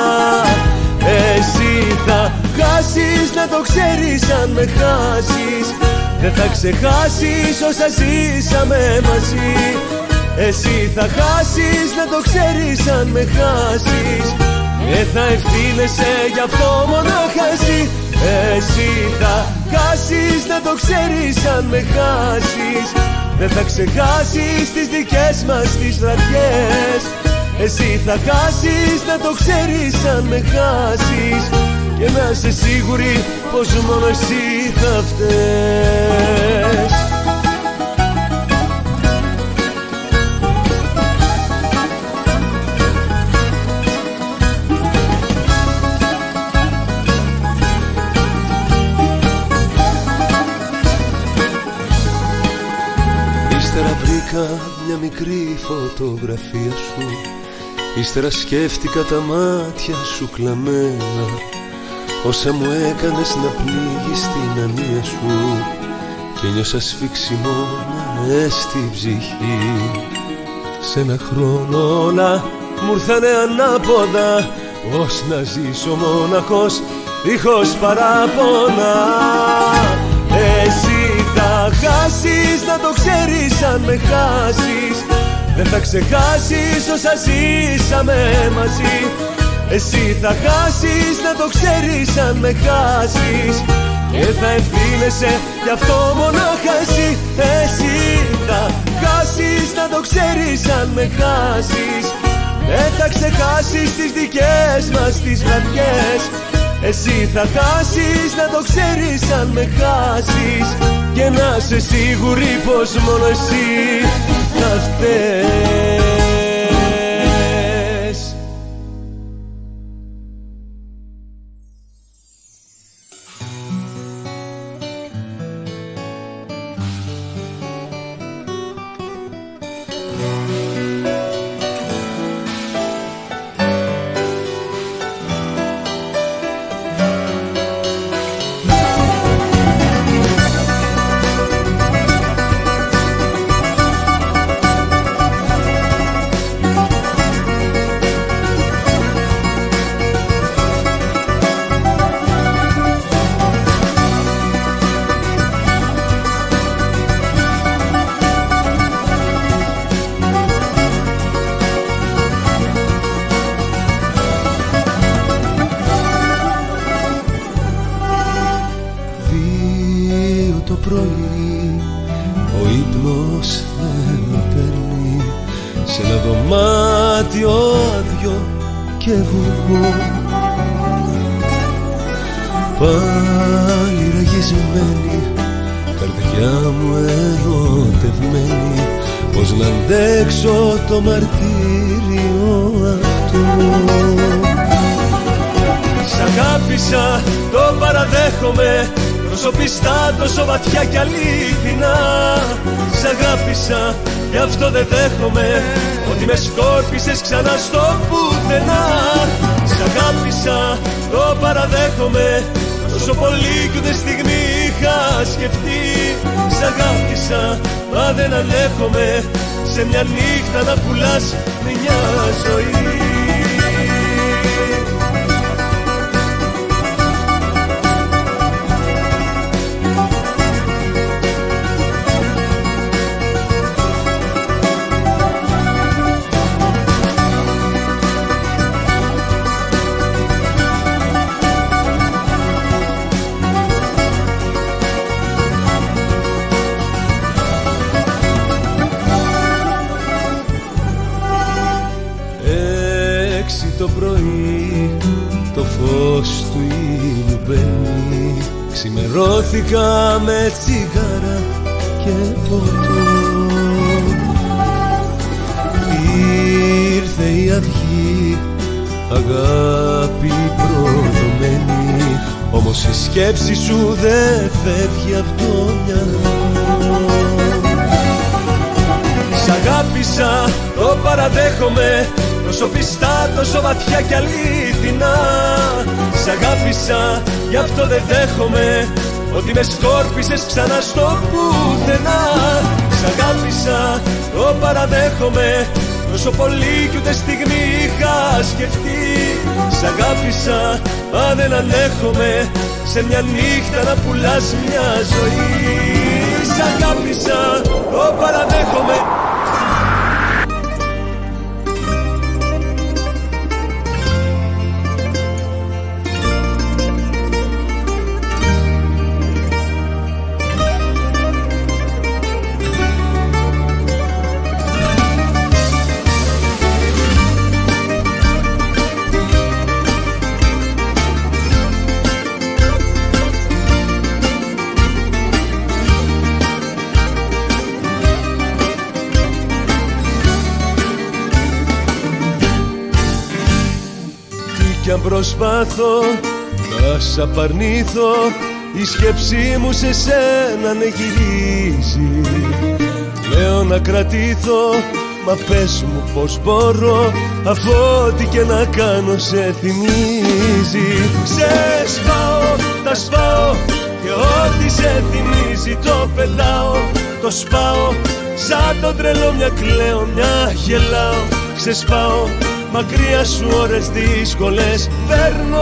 Εσύ θα χάσεις, να το ξέρεις, αν με χάσεις δεν θα ξεχάσεις όσα ζήσαμε μαζί. Εσύ θα χάσεις, να το ξέρεις, αν με χάσεις δεν θα ευθύνεσαι γι' αυτό μονάχα εσύ. Εσύ θα χάσεις, να το ξέρεις, αν με χάσεις δεν θα ξεχάσεις τις δικές μας τις βραδιές. Εσύ θα χάσεις, να το ξέρεις, αν με χάσεις, και να είσαι σίγουρη πως μόνο εσύ θα φταίς. είδα μια μικρή φωτογραφία σου, ύστερα σκέφτηκα τα μάτια σου κλαμμένα, όσα μου έκανες να πλήγεις την ανία σου, και νιώσα σφίξιμο μες στη ψυχή. Σ' ένα χρόνο όλα μου ήρθανε ανάποδα, πώς να ζήσω μοναχός δίχως παράπονα. Εσύ θα χάσεις, να το ξέρεις αν με χάσεις, δεν θα ξεχάσεις όσα ζήσαμε μαζί. Εσύ θα χάσεις, να το ξέρεις αν με χάσεις, και θα ευθύνεσαι γι' αυτό μονάχα εσύ. Εσύ θα χάσεις, να το ξέρεις αν με χάσεις, δεν θα ξεχάσεις τις δικές μας τις βραδιές. Εσύ θα χάσεις, να το ξέρεις αν με χάσεις, και να είσαι σίγουρη πως μόνο εσύ θα φταίς. Πάλι ραγισμένη, καρδιά μου ερωτευμένη, πώς να αντέξω το μαρτύριο αυτό. Σ' αγάπησα, το παραδέχομαι, τόσο πιστά, τόσο βαθιά κι αλήθινα. Σ' αγάπησα, γι' αυτό δεν δέχομαι ότι με σκόρπισες ξανά στο πουθενά. Σ' αγάπησα, το παραδέχομαι, τόσο πολύ κι ούτε στιγμή είχα σκεφτεί. Σ' αγάπησα, μα δεν ανέχομαι σε μια νύχτα να πουλάς μια ζωή. Το πρωί το φως του ήλιου μπαίνει, ξημερώθηκα με τσιγάρα και ποτό. Ήρθε η αυγή, αγάπη προδομένη, όμως η σκέψη σου δεν φεύγει από το μυαλό. Σ' αγάπησα, το παραδέχομαι, τόσο πιστά, τόσο βαθιά κι αλήθινα. Σ' αγάπησα, γι' αυτό δεν δέχομαι ότι με σκόρπισες ξανά στο πουθενά. Σ' αγάπησα, το παραδέχομαι, τόσο πολύ κι ούτε στιγμή είχα σκεφτεί. Σ' αγάπησα, μα δεν ανέχομαι σε μια νύχτα να πουλάς μια ζωή. Σ' αγάπησα, το παραδέχομαι. Κι αν προσπάθω να σ' απαρνήθω, η σκέψη μου σε σένα ναι γυρίζει. Λέω να κρατήθω, μα πες μου πως μπορώ, αφού ό,τι και να κάνω σε θυμίζει. Ξεσπάω, τα σπάω και ό,τι σε θυμίζει το πετάω. Το σπάω, σαν το τρελό μια κλαίω, μια γελάω. Ξεσπάω, μακριά σου ώρες δύσκολες παίρνω.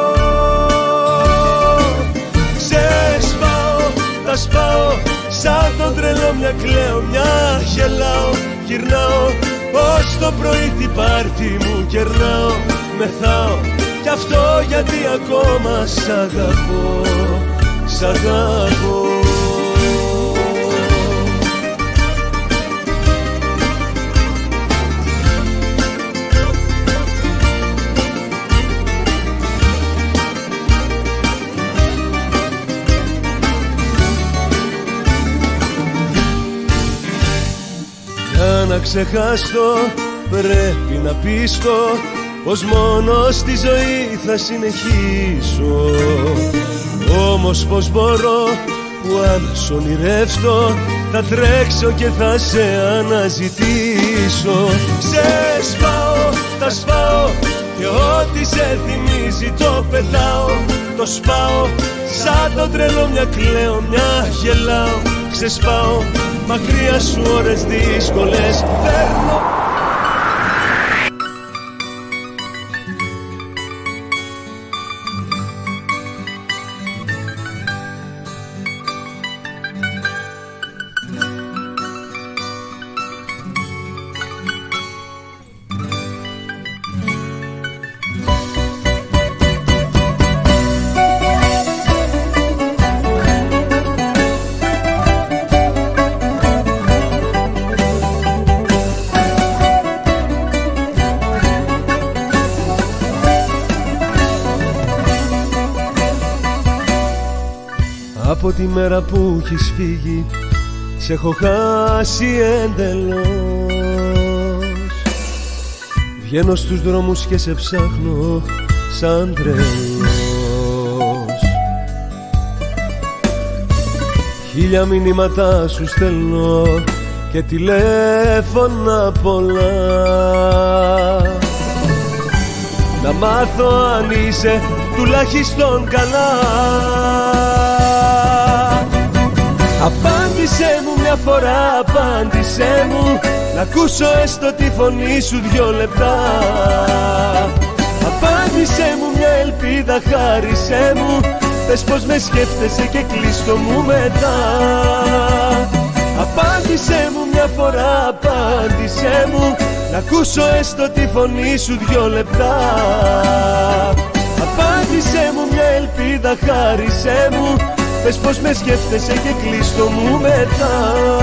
Ξεσπάω, τα σπάω, σαν το τρελό μια κλαίω, μια γελάω. Γυρνάω, ως το πρωί την πάρτι μου κερνάω. Μεθάω, κι αυτό γιατί ακόμα σ' αγαπώ, σ' αγαπώ. Για να ξεχάσω πρέπει να πείσω πως μόνο στη ζωή θα συνεχίσω. Όμως πως μπορώ που αν σ' ονειρεύσω θα τρέξω και θα σε αναζητήσω. Ξεσπάω, τα σπάω και ό,τι σε θυμίζει το πετάω. Το σπάω, σαν το τρελό μια κλαίω, μια γελάω. Ξεσπάω, μακριά σου ώρες δύσκολες παίρνω. Από τη μέρα που έχεις φύγει σε έχω χάσει εντελώς. Βγαίνω στους δρόμους και σε ψάχνω σαν τρελός. Χίλια μηνύματα σου στέλνω και τηλέφωνα πολλά. Να μάθω αν είσαι τουλάχιστον καλά. Απάντησέ μου μια φορά, απάντησέ μου, να ακούσω έστω τη φωνή σου 2 λεπτά. Απάντησέ μου μια ελπίδα, χάρισέ μου, πες πως με σκέφτεσαι και κλείστο μου μετά. Απάντησέ μου μια φορά, απάντησέ μου, να ακούσω έστω τη φωνή σου 2 λεπτά. Απάντησέ μου μια ελπίδα, χάρισέ μου, πες πως με σκέφτεσαι και κλείστο μου μετά.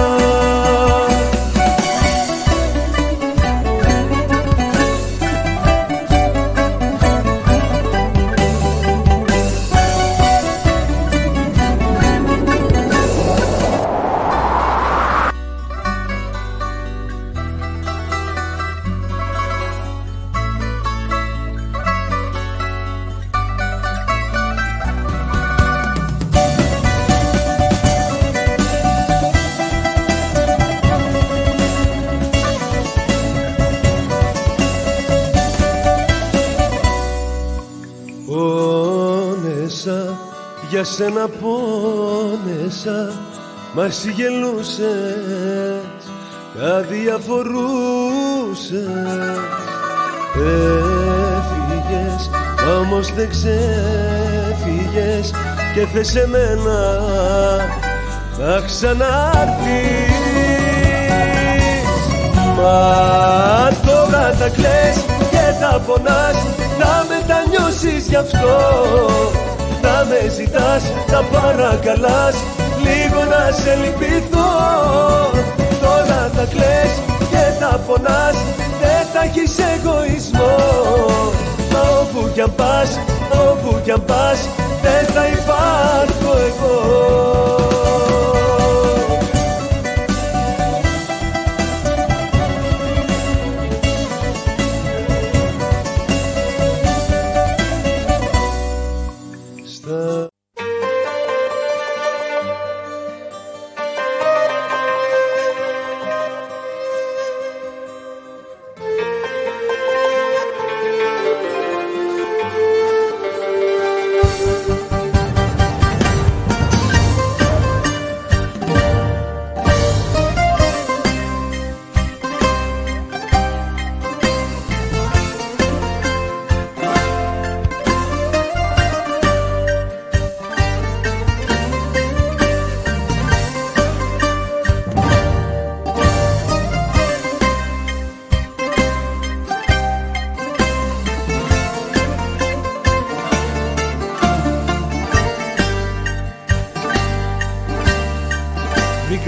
Για σένα πόνεσα, μα εσύ γελούσες, αδιαφορούσες. Έφυγες, όμως δεν ξέφυγες και θες εμένα να ξανάρθεις. Μα τώρα τα κλαις και τα πονάς, θα μετανιώσεις γι' αυτό. Θα με ζητάς, θα παρακαλάς, λίγο να σε λυπηθώ. Τώρα θα κλαις και θα πονάς, δεν θα έχεις εγωισμό. Μα όπου κι αν πας, όπου κι αν πας, δεν θα υπάρχω εγώ.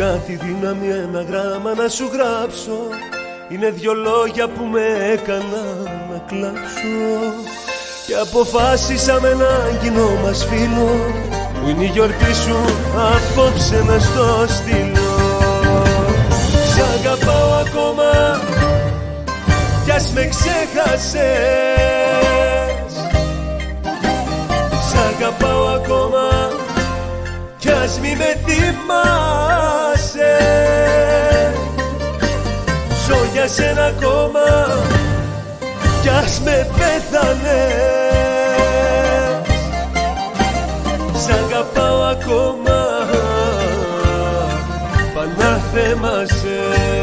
Βρήκα τη δύναμη ένα γράμμα να σου γράψω. Είναι δυο λόγια που με έκανα να κλάψω. Και αποφάσισα με ένα κοινό μας φίλο, που είναι η γιορτή σου, απόψε να στο στείλω. Σ' αγαπάω ακόμα κι ας με ξέχασες. Σ' αγαπάω ακόμα κι ας μη με θυμάσαι. Ζω για σένα ακόμα κι ας με πέθανες. Σ' αγαπάω ακόμα, πανάθεμασαι.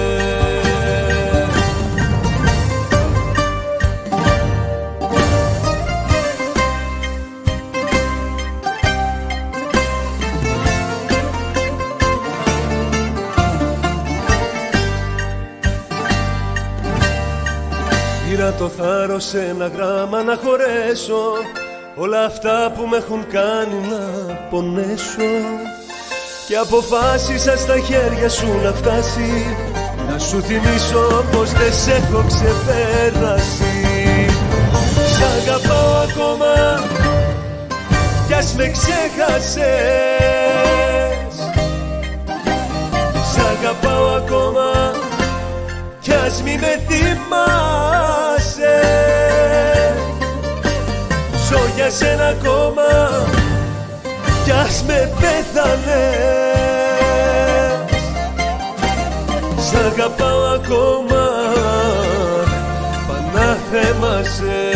Πήρα το θάρρος σε ένα γράμμα να χωρέσω όλα αυτά που με έχουν κάνει να πονέσω. Και αποφάσισα στα χέρια σου να φτάσει, να σου θυμίσω πως δεν σ' έχω ξεπέραση. Σ' αγαπάω ακόμα κι ας με ξέχασες. Σ' αγαπάω ακόμα κι ας μη με θυμάσαι. Ζω για σένα ακόμα κι ας με πέθανες. Σ' αγαπάω ακόμα, πανάθεμασαι.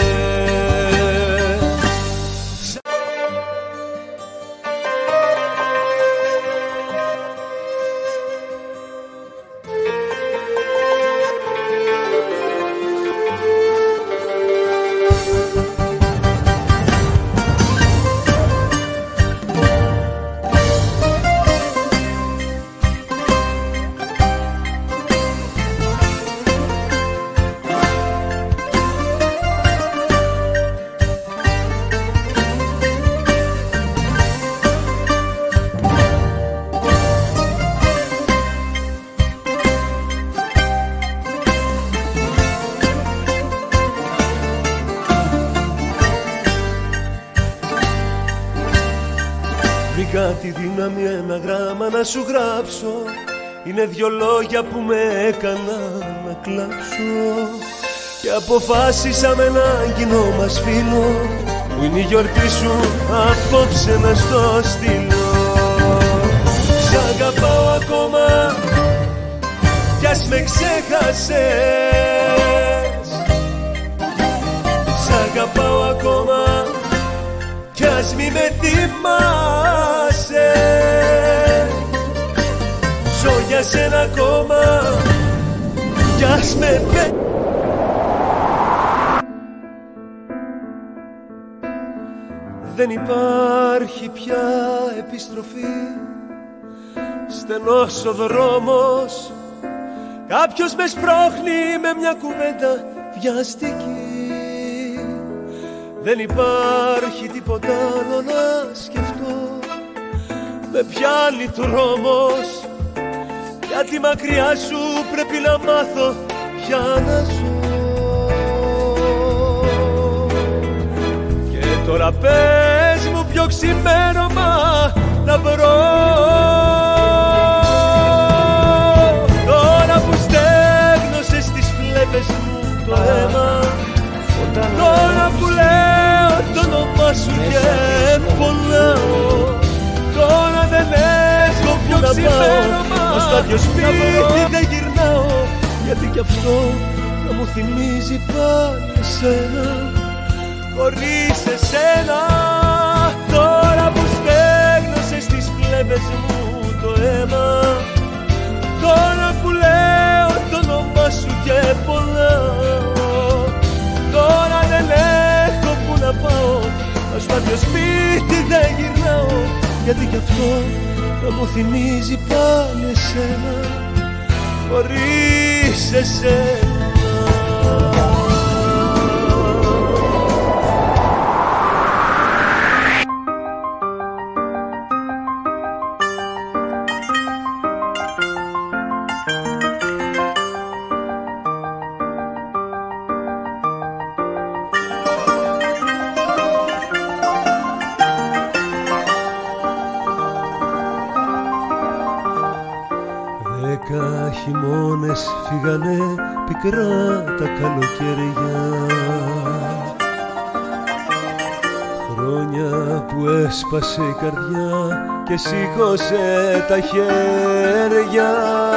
Βρήκα τη δύναμη ένα γράμμα να σου γράψω. Είναι δυο λόγια που με έκανα να κλάψω. Και αποφάσισα με έναν κοινό μας φίλο, που είναι η γιορτή σου, απόψε να στο στείλω. Σ' αγαπάω ακόμα κι ας με ξέχασες. Σ' αγαπάω ακόμα κι ας μη με θυμάσαι. Ζω για σένα ακόμα κι ας με πέ... Δεν υπάρχει πια επιστροφή, στενός ο δρόμος, κάποιος με σπρώχνει με μια κουβέντα βιαστική. Δεν υπάρχει τίποτα άλλο να σκεφτώ, με πιάνει τρόμος, γιατί μακριά σου πρέπει να μάθω πια να ζω. Και τώρα πες μου ποιο ξημέρωμα να βρω, τώρα που στέγνωσες τις φλέβες μου το αίμα, τώρα που λέω το όνομά σου και πονάω, τώρα δεν έχω πιο ξημέρωμα στο άδειο σπίτι δεν γυρνάω, γιατί κι αυτό θα μου θυμίζει πάλι εσένα, χωρίς εσένα. Τώρα που στέγνωσες τις φλέβες μου το αίμα, τώρα που λέω το όνομά σου και πονάω, τώρα δεν έχω που να πάω, στο άδειο σπίτι δεν γυρνάω, γιατί κι αυτό θα μου θυμίζει πάλι εσένα, χωρίς εσένα. χειμώνες φύγανε πικρά τα καλοκαιριά. Χρόνια που έσπασε η καρδιά και σήκωσε τα χέρια.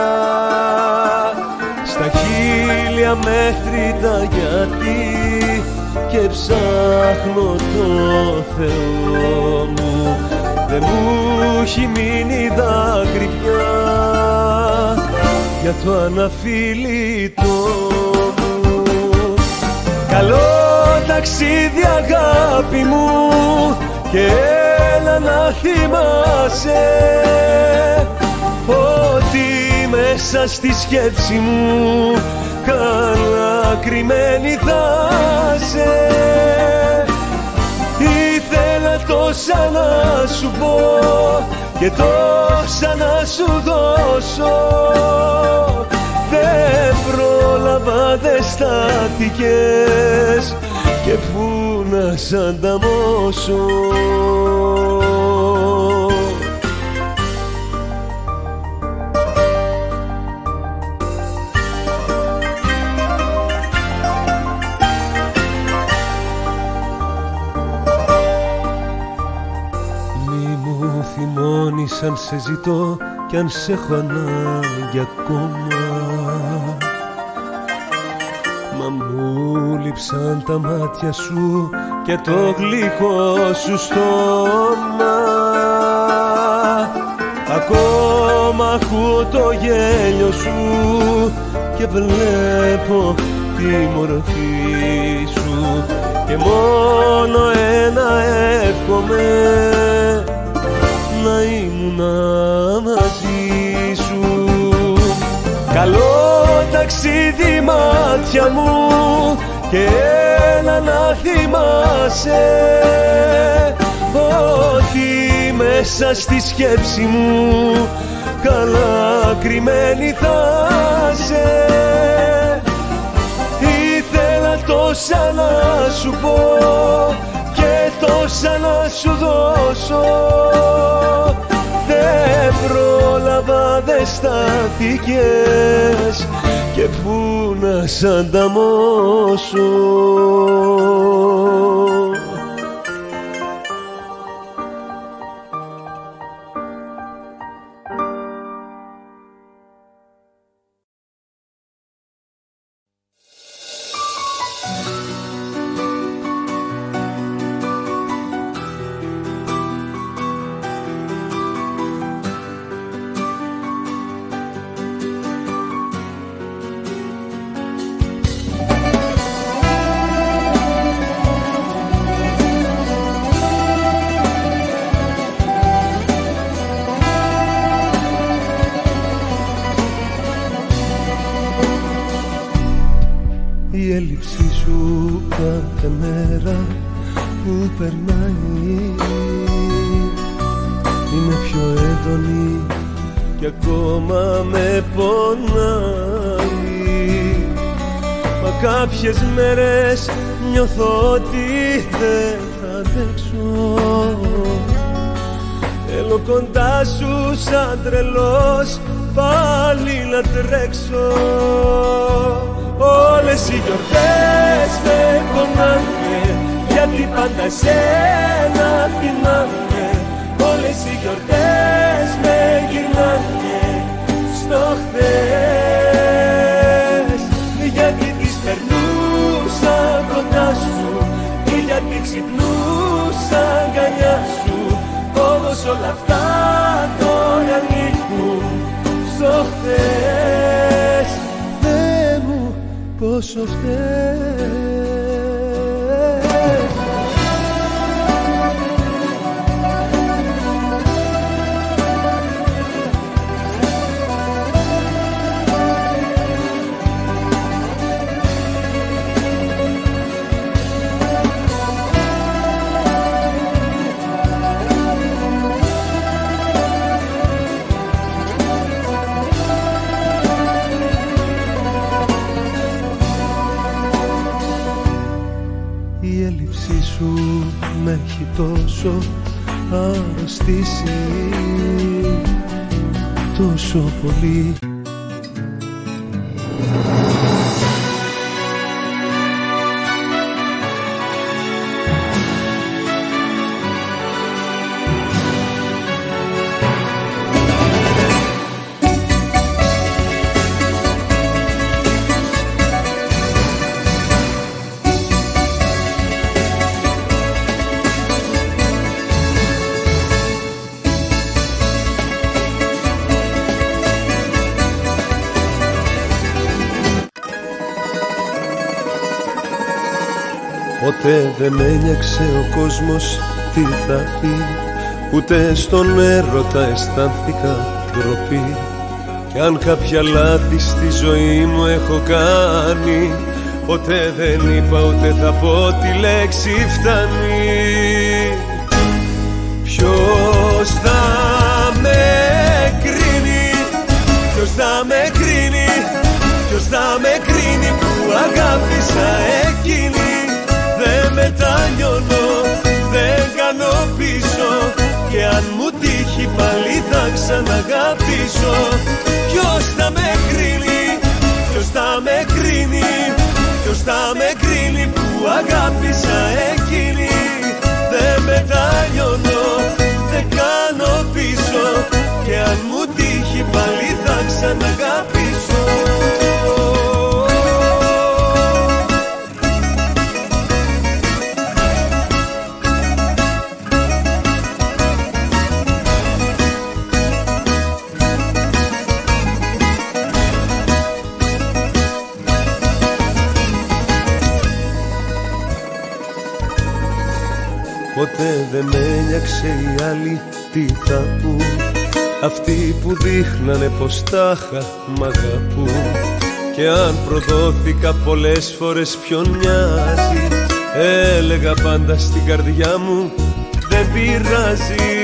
Στα χίλια μέτρητα γιατί και ψάχνω το Θεό μου. Δεν μου έχει μείνει δάκρυ πια για το αναφίλητο μου. Καλό ταξίδι αγάπη μου και έλα να θυμάσαι ότι μέσα στη σκέψη μου καλά κρυμμένη θα σε. Ήθελα τόσα να σου πω και τόσα να σου δώσω. Δεν πρόλαβα, δεν στάθηκες και πού να σ' ανταμώσω. Αν σε ζητώ κι αν σε έχω ανάγκη ακόμα, μα μου λείψαν τα μάτια σου και το γλυκό σου στόμα. Ακόμα ακούω το γέλιο σου και βλέπω τη μορφή σου και μόνο ένα εύχομαι, να ήμουν μαζί σου. Καλό ταξίδι μάτια μου και έλα να θυμάσαι ότι μέσα στη σκέψη μου καλά κρυμμένη θα σε. Ήθελα τόσα να σου πω και τόσα να σου δώσω. Δεν πρόλαβα, δεν στάθηκες και πού να σ' ανταμώσω. Η έλλειψή σου κάθε μέρα που περνάει είναι πιο έντονη και ακόμα με πονάει. Μα κάποιες μέρες νιώθω ότι δεν θα αντέξω. Θέλω κοντά σου σαν τρελός πάλι να τρέξω. Όλες οι γιορτές με πονάνε γιατί πάντα εσένα θυμάμαι. Όλες οι γιορτές με γυρνάνε στο χθες, γιατί τις περνούσα κοντά σου ή γιατί ξυπνούσα αγκαλιά σου. Όμως όλα αυτά τώρα ανήκουν στο χθες. Θεέ μου πόσο φταίς. Η έλλειψή σου με έχει τόσο αρρωστήσει, τόσο πολύ. Ποτέ δεν με ένιωξε ο κόσμος τι θα πει, ούτε στον έρωτα αισθάνθηκα ντροπή. Κι αν κάποια λάθη στη ζωή μου έχω κάνει, ποτέ δεν είπα ούτε θα πω τη λέξη φτάνει. Ποιος θα με κρίνει, ποιος θα με κρίνει, ποιος θα με κρίνει που αγάπησα εκείνη. Δεν μετανιώνω, δεν κάνω πίσω, και αν μου τύχει πάλι θα ξαναγαπήσω. Ποιος θα με κρίνει, ποιος θα με κρίνει, ποιος θα με κρίνει που αγάπησα εκείνη. Δεν μετανιώνω, δεν κάνω πίσω, και αν μου τύχει πάλι θα ξαναγαπήσω. Ποτέ δεν με ένιωξε οι άλλοι τι θα πουν, αυτοί που δείχνανε πως τάχα μ' αγαπούν. Και αν προδόθηκα πολλές φορές ποιον νοιάζει, έλεγα πάντα στην καρδιά μου δεν πειράζει.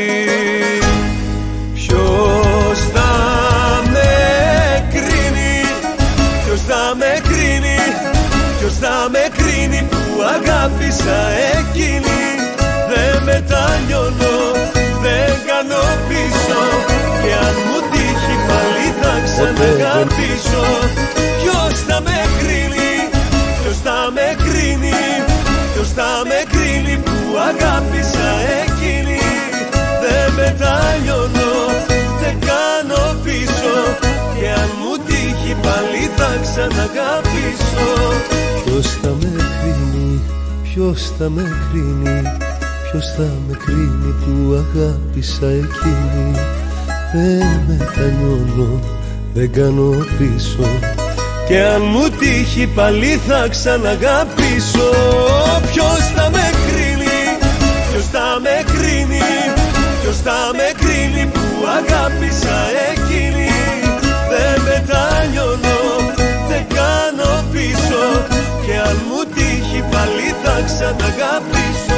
Ποιος θα με κρίνει, ποιος θα με κρίνει, ποιος θα με κρίνει που αγάπησα εκείνη. Δεν μετανιώνω, δεν κάνω πίσω, και αν μου τύχει πάλι θα ξαναγαπήσω. Ποιος θα με κρίνει, ποιος θα με κρίνει, ποιος θα με κρίνει που αγάπησα εκείνη. Δεν μετανιώνω, δεν κάνω πίσω, και αν μου τύχει πάλι θα ξαναγαπήσω. Ποιος θα με κρίνει, ποιος θα με κρίνει, ποιος θα με κρίνει που αγάπησα εκείνη. Δεν μετανιώνω, δεν κάνω πίσω, και αν μου τύχει πάλι θα ξαναγαπήσω. Ποιος θα με κρίνει, ποιος θα με κρίνει, ποιος θα με κρίνει που αγάπησα εκείνη. Δεν μετανιώνω, δεν κάνω πίσω, και αν μου τύχει πάλι θα ξαναγαπήσω.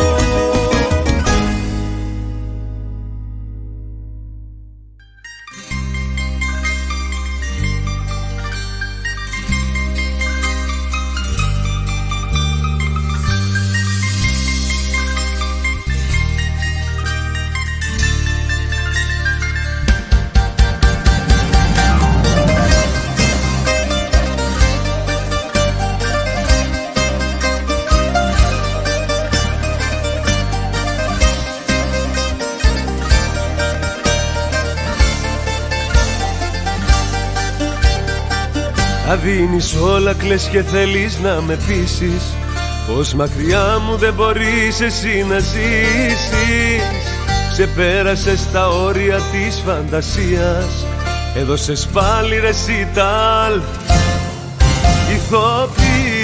Τα δίνεις όλα, κλαις και θέλεις να με πείσεις πως μακριά μου δεν μπορείς εσύ να ζήσεις. Ξεπέρασες τα όρια της φαντασίας, έδωσες πάλι ρεσιτάλ ηθοποιίας.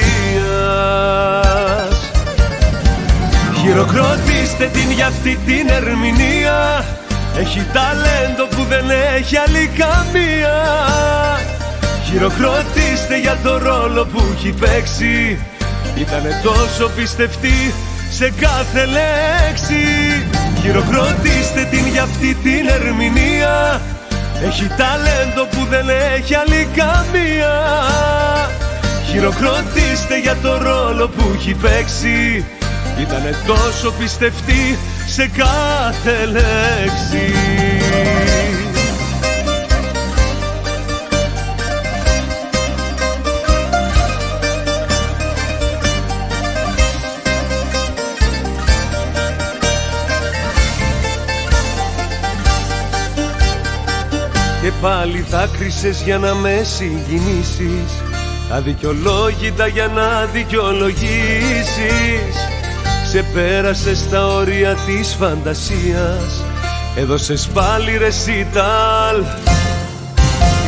Χειροκροτήστε την για αυτή την ερμηνεία, έχει ταλέντο που δεν έχει άλλη καμία. Χειροκροτήστε για το ρόλο που έχει παίξει, ήτανε τόσο πιστευτή σε κάθε λέξη. Χειροκροτήστε την για αυτή την ερμηνεία, έχει ταλέντο που δεν έχει άλλη καμία. Χειροκροτήστε για το ρόλο που έχει παίξει, ήτανε τόσο πιστευτή σε κάθε λέξη. Και πάλι δάκρυσες για να με συγκινήσεις, αδικαιολόγητα για να δικαιολογήσεις. Ξεπέρασες τα όρια της φαντασίας, έδωσες πάλι ρεσιτάλ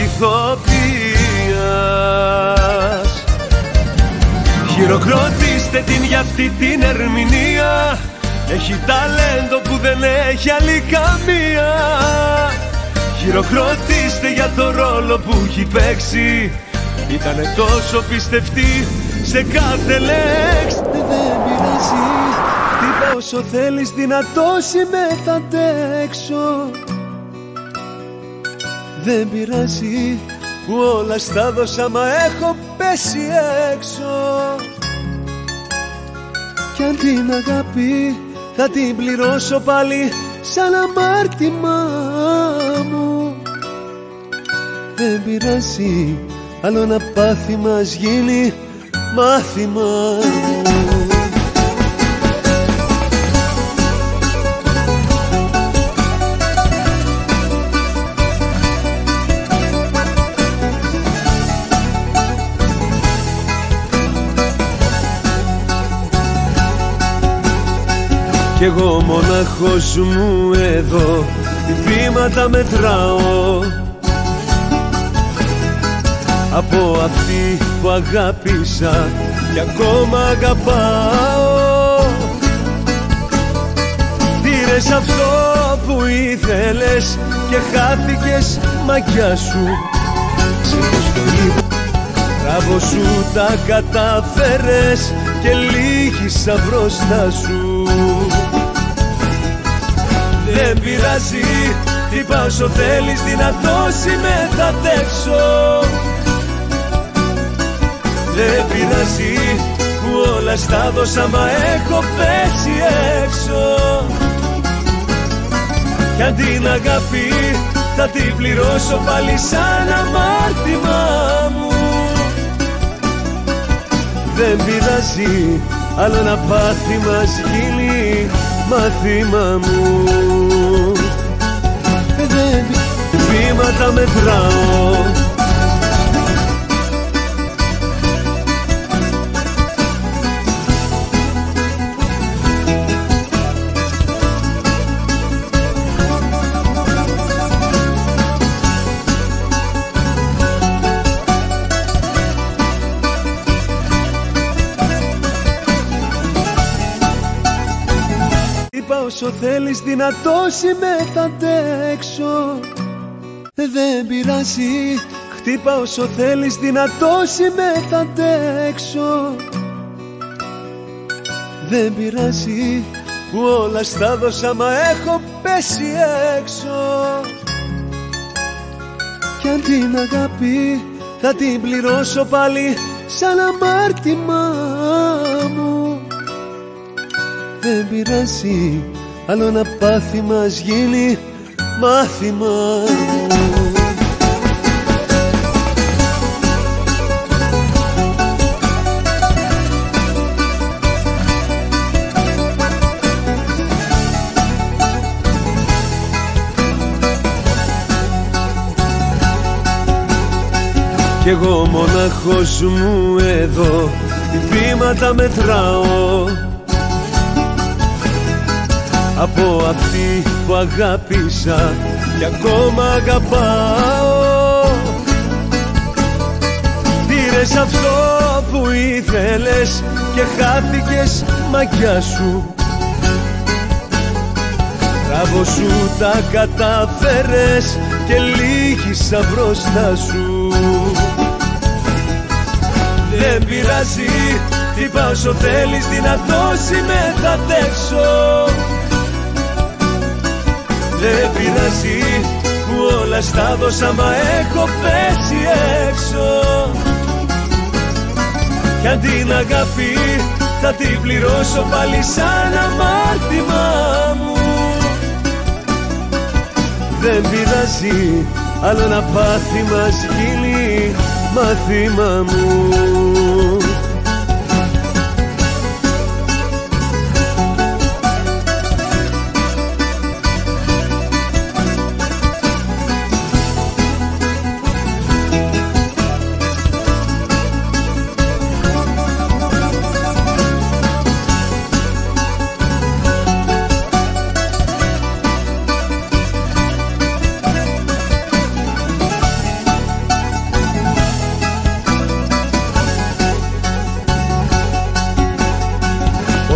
ηθοποιίας. Χειροκροτήστε Δείτε την για αυτή την ερμηνεία. Έχει ταλέντο που δεν έχει άλλη καμία. Χειροκροτήστε για το ρόλο που έχει παίξει. Ήτανε τόσο πιστευτή σε κάθε λέξη. Δεν πειράζει, χτύπα όσο θέλεις, δυνατός είμαι, θα αντέξω. Δεν πειράζει που όλα στα δώσα, μα έχω πέσει έξω. Κι αν την αγάπη θα την πληρώσω πάλι σαν αμάρτημα μου. Δεν πειράζει, άλλο να πάθει μας γίνει μάθημα μου. Κι εγώ μονάχος μου εδώ τι βήματα μετράω από αυτή που αγάπησα και ακόμα αγαπάω. Πήρες αυτό που ήθελες και χάθηκες μαγιά σου. Μπράβο σου, τα καταφέρες και λύγησα μπροστά σου. Δεν πειράζει, χτύπα όσο θέλεις, δυνατός είμαι, θα αντέξω. Δεν πειράζει που όλα στα δώσα, μα έχω πέσει έξω. Κι αν την αγάπη θα την πληρώσω πάλι σαν αμάρτημα μου. Δεν πειράζει, άλλο να πάθει μας γίνει μάθημα μου. Δεν βήματα μετράω. Όσο θέλεις, δυνατός είμαι, θα αντέξω. Δεν πειράζει, χτύπα όσο θέλεις, δυνατός είμαι, θα αντέξω. Δεν πειράζει που όλα στα δώσα, μα έχω πέσει έξω. Κι αν την αγάπη θα την πληρώσω πάλι σαν αμάρτημα μου. Δεν πειράζει, άλλο να πάθει μας γίνει μάθημα μου. Κι εγώ μονάχος μου εδώ τι βήματα μετράω από αυτή που αγάπησα και ακόμα αγαπάω. Πήρες αυτό που ήθελες και χάθηκες μαγιά σου. Μπράβο σου, τα καταφέρες και λύγησα μπροστά σου. Δεν πειράζει, χτύπα όσο θέλεις, δυνατός είμαι, θα αντέξω. Δεν πειράζει που όλα στα δώσα, μα έχω πέσει έξω. Κι αν την αγάπη θα την πληρώσω πάλι σαν αμάρτημα μου. Δεν πειράζει, άλλο να πάθει μας γίνει μάθημα μου.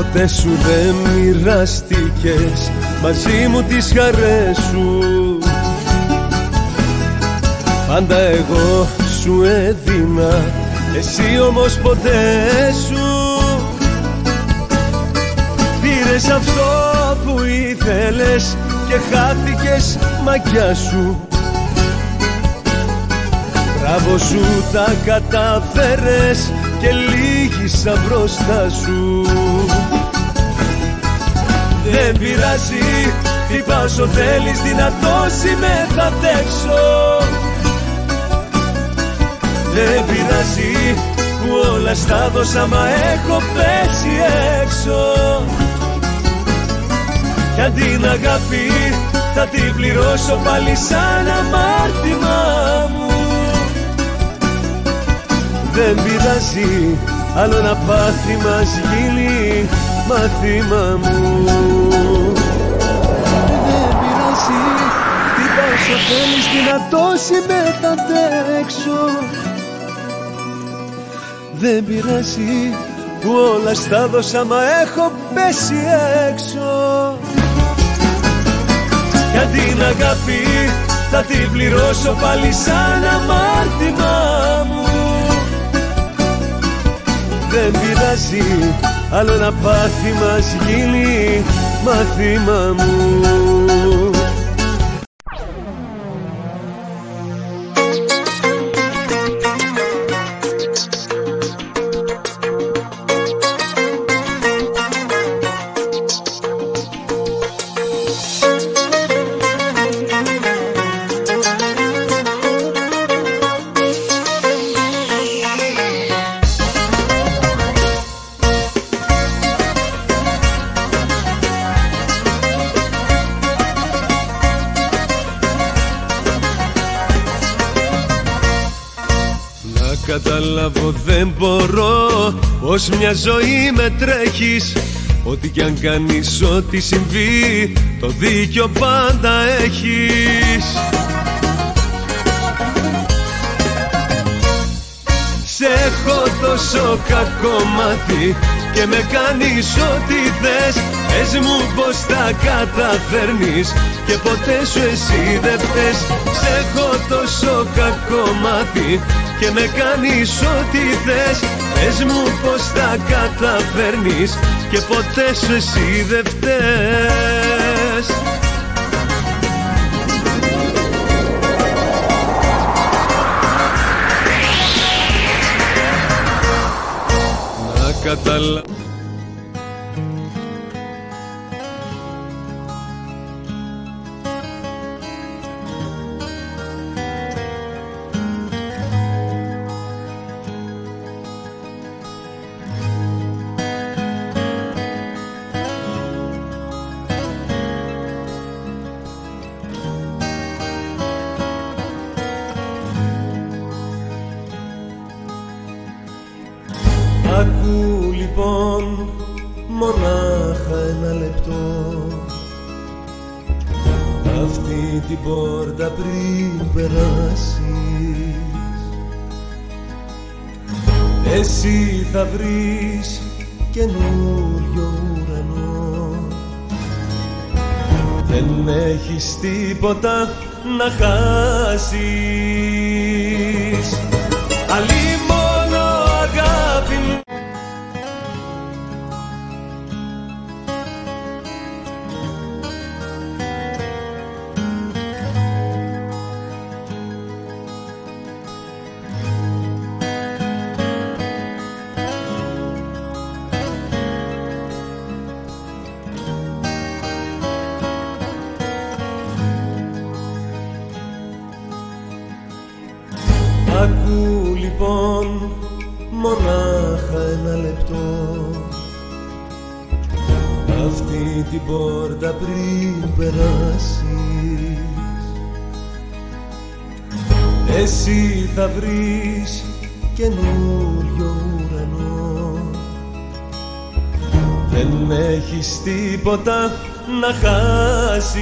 ποτέ σου δεν μοιράστηκες μαζί μου τις χαρές σου. Πάντα εγώ σου έδινα, εσύ όμως ποτέ σου. Πήρες αυτό που ήθελες και χάθηκες μαγιά σου. Μπράβο σου, τα καταφέρες και λύγησα μπροστά σου. Δεν πειράζει, χτυπά όσο θέλεις, δυνατός είμαι, θα αντέξω. Δεν πειράζει που όλα στα δώσα, μα έχω πέσει έξω. Κι αν την αγάπη θα την πληρώσω πάλι σαν αμάρτημα μου. Δεν πειράζει, άλλο ένα πάθη μας γίνει μάθημα μου. Δεν πειράζει, χτυπά όσο θέλεις, δυνατός είμαι, θα αντέξω. Δεν πειράζει που όλα στα δώσα, μα έχω πέσει έξω. Για την αγάπη θα την πληρώσω πάλι σαν αμάρτημα μου. Δεν πειράζει, άλλο ένα πάθη μας γίνει μάθημα μου. Καταλάβω δεν μπορώ πως μια ζωή με τρέχεις. Ό,τι κι αν κάνεις, ό,τι συμβεί, το δίκιο πάντα έχεις. Σε έχω τόσο κακό μάτι και με κάνεις ό,τι θες. Πες μου πως τα καταφέρνεις και ποτέ σου εσύ δεν φταίς. Σε έχω τόσο κακό μάτι και με κάνεις ό,τι θες. Πες μου πως τα καταφέρνεις και ποτέ σου εσύ δεν φταίς. Να καταλάβω Ακού λοιπόν μονάχα ένα λεπτό αυτή την πόρτα πριν περάσεις. Εσύ θα βρεις καινούριο ουρανό. Δεν έχεις τίποτα να χάσεις. Αλλή μόνο αγάπη μου. Ακού λοιπόν μονάχα ένα λεπτό αυτή την πόρτα πριν περάσεις. Εσύ θα βρεις καινούριο ουρανό. Δεν έχεις τίποτα να χάσεις.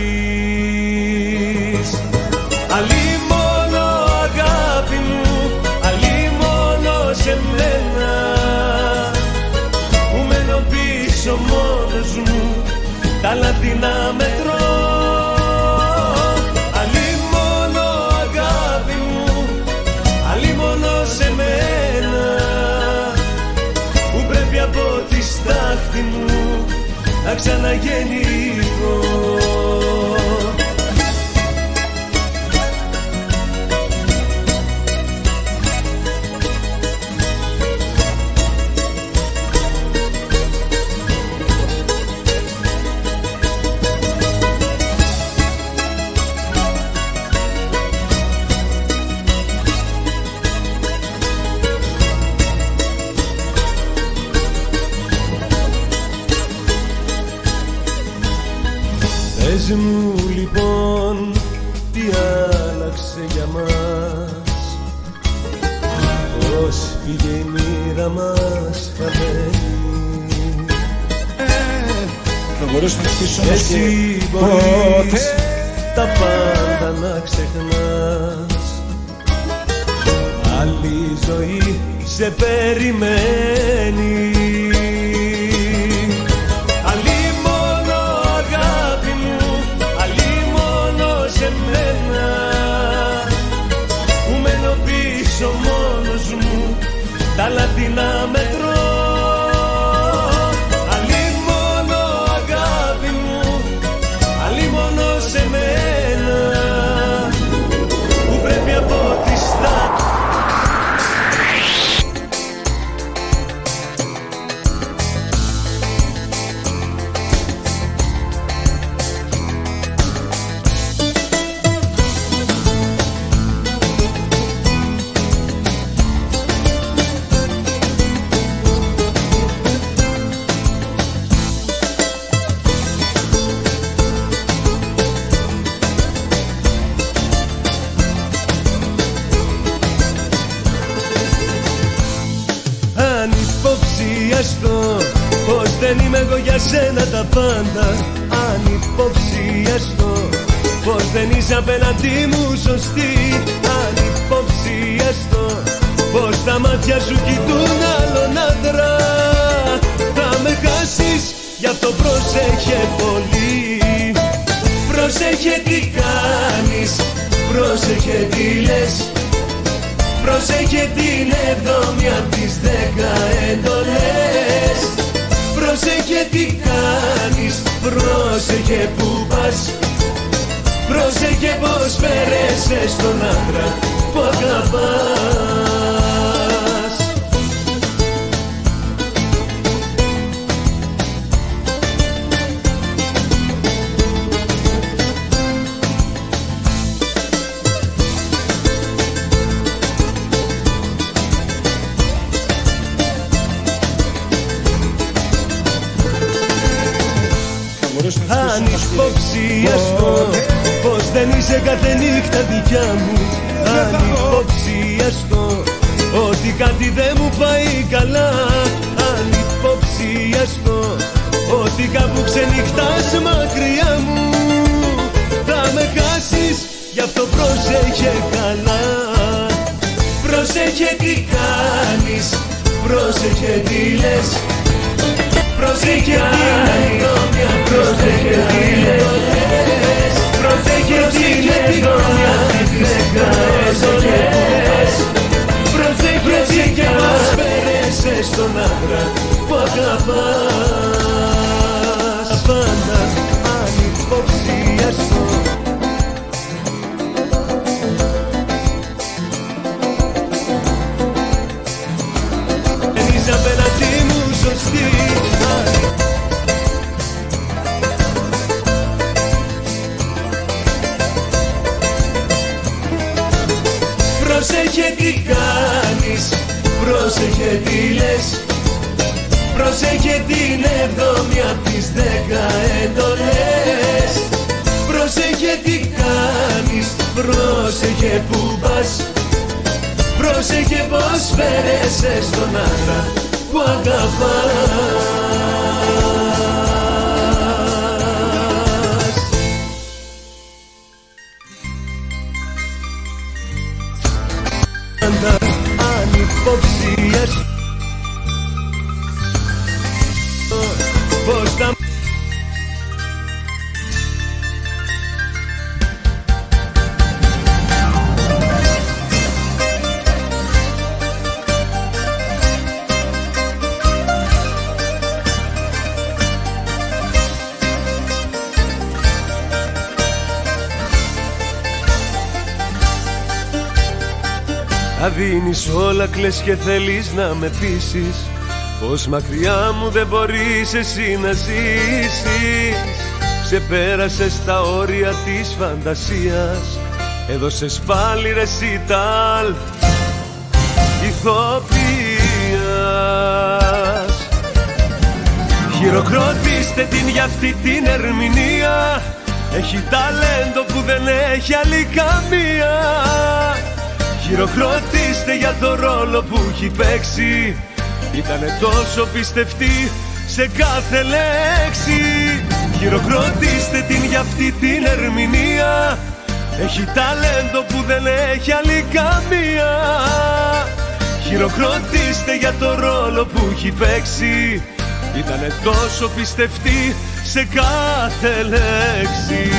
Αλλή μόνο αγάπη μου, αλλή μόνο σε μένα που μένω πίσω πίσω μόνος μου, τα λάθη να μετρώ. Αλλήμωνο αγάπη μου, αλλήμωνο σε μένα, που πρέπει από τη στάχτη μου να ξαναγεννηθώ. Πες μου λοιπόν τι άλλαξε για μας, πώς πήγε η μοίρα μας χαμένη. Θα μπορέσουμε να στήσουμε εσύ μπορείς τα πάντα να ξεχνάς, άλλη ζωή σε περιμένει. Τα λάθη να μετρώ. Αλλήμωνο αγάπη μου, αλλήμωνο σε μένα, που πρέπει από τη στάχτη. Πως δεν είμαι εγώ για σένα τα πάντα, αν υποψιαστώ πως δεν είσαι απέναντί μου σωστή, αν υποψιαστώ πως τα μάτια σου κοιτούν άλλον άντρα, θα με χάσεις, γι' αυτό πρόσεχε πολύ. Πρόσεχε τι κάνεις, πρόσεχε τι λες, πρόσεχε την 7η απ' τις 10 εντολές. Πρόσεχε τι κάνεις, πρόσεχε που πας, πρόσεχε πως φέρεσαι στον άντρα που αγαπάς. Αν υποψιαστώ πως δεν είσαι κάθε νύχτα δικιά μου, αν υποψιαστώ ότι κάτι δεν μου πάει καλά, αν υποψιαστώ ότι κάπου ξενυχτάς μακριά μου, θα με χάσεις, γι' αυτό πρόσεχε καλά. Πρόσεχε τι κάνεις, πρόσεχε τι λες, πρόσεχε τι είναι, πρόσεχε τι λες, πρόσεχε τι είναι, πρόσεχε που πας, πρόσεχε πως φέρεσαι στον άντρα που αγαπάς. Πάντα αν υποψιαστώ δεν είσαι απέναντί μου σωστή. Πρόσεχε τι κάνεις, πρόσεχε τι λες, πρόσεχε την 7η απ' τις 10 εντολές. Πρόσεχε τι κάνεις, πρόσεχε που πας, πρόσεχε πως φέρεσαι στον άντρα που αγαπάς. Αν υποψιαστώ στα... Τα δίνεις όλα, κλαις και θέλεις να με πείσεις πως μακριά μου δεν μπορείς εσύ να ζήσεις. Ξεπέρασες τα όρια της φαντασίας, έδωσες πάλι ρεσιτάλ ηθοποιίας. Χειροκροτήστε την για αυτή την ερμηνεία, έχει ταλέντο που δεν έχει άλλη καμία. Χειροκροτήστε για το ρόλο που έχει παίξει, ήτανε τόσο πιστευτή σε κάθε λέξη. Χειροκροτήστε την για αυτή την ερμηνεία, έχει ταλέντο που δεν έχει άλλη καμία. Χειροκροτήστε για το ρόλο που έχει παίξει, ήτανε τόσο πιστευτή σε κάθε λέξη.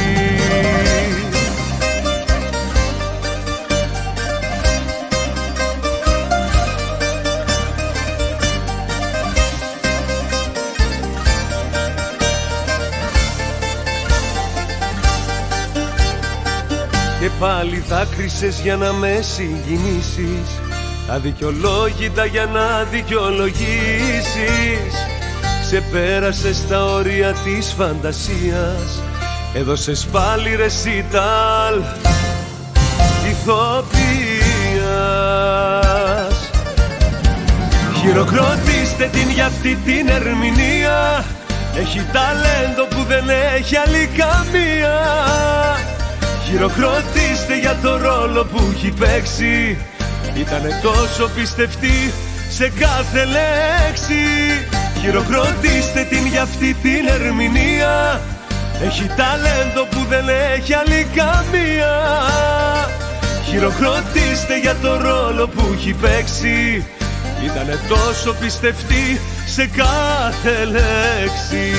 Και πάλι δάκρυσες για να με συγκινήσεις, αδικαιολόγητα για να δικαιολογήσεις. Ξεπέρασες τα όρια της φαντασίας, έδωσες πάλι ρεσιτάλ ηθοποιίας. Χειροκροτήστε την για αυτή την ερμηνεία, έχει ταλέντο που δεν έχει άλλη καμία. Χειροκροτήστε για το ρόλο που έχει παίξει, ήτανε τόσο πιστευτή σε κάθε λέξη. Χειροκροτήστε την για αυτή την ερμηνεία, έχει ταλέντο που δεν έχει άλλη καμία. Χειροκροτήστε για το ρόλο που έχει παίξει, ήτανε τόσο πιστευτή σε κάθε λέξη.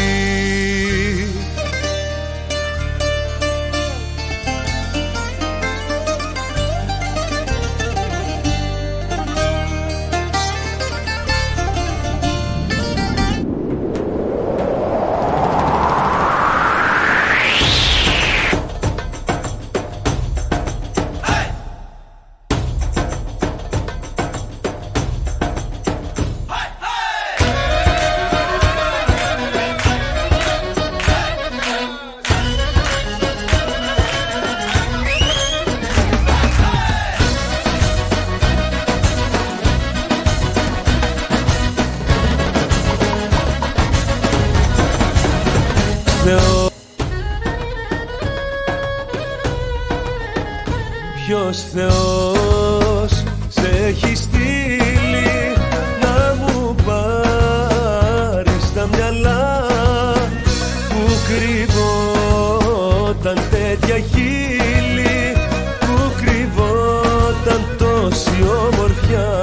Ποιος Θεός σε έχει στείλει να μου πάρεις τα μυαλά που κρυβόταν τέτοια χείλη, που κρυβόταν τόση ομορφιά.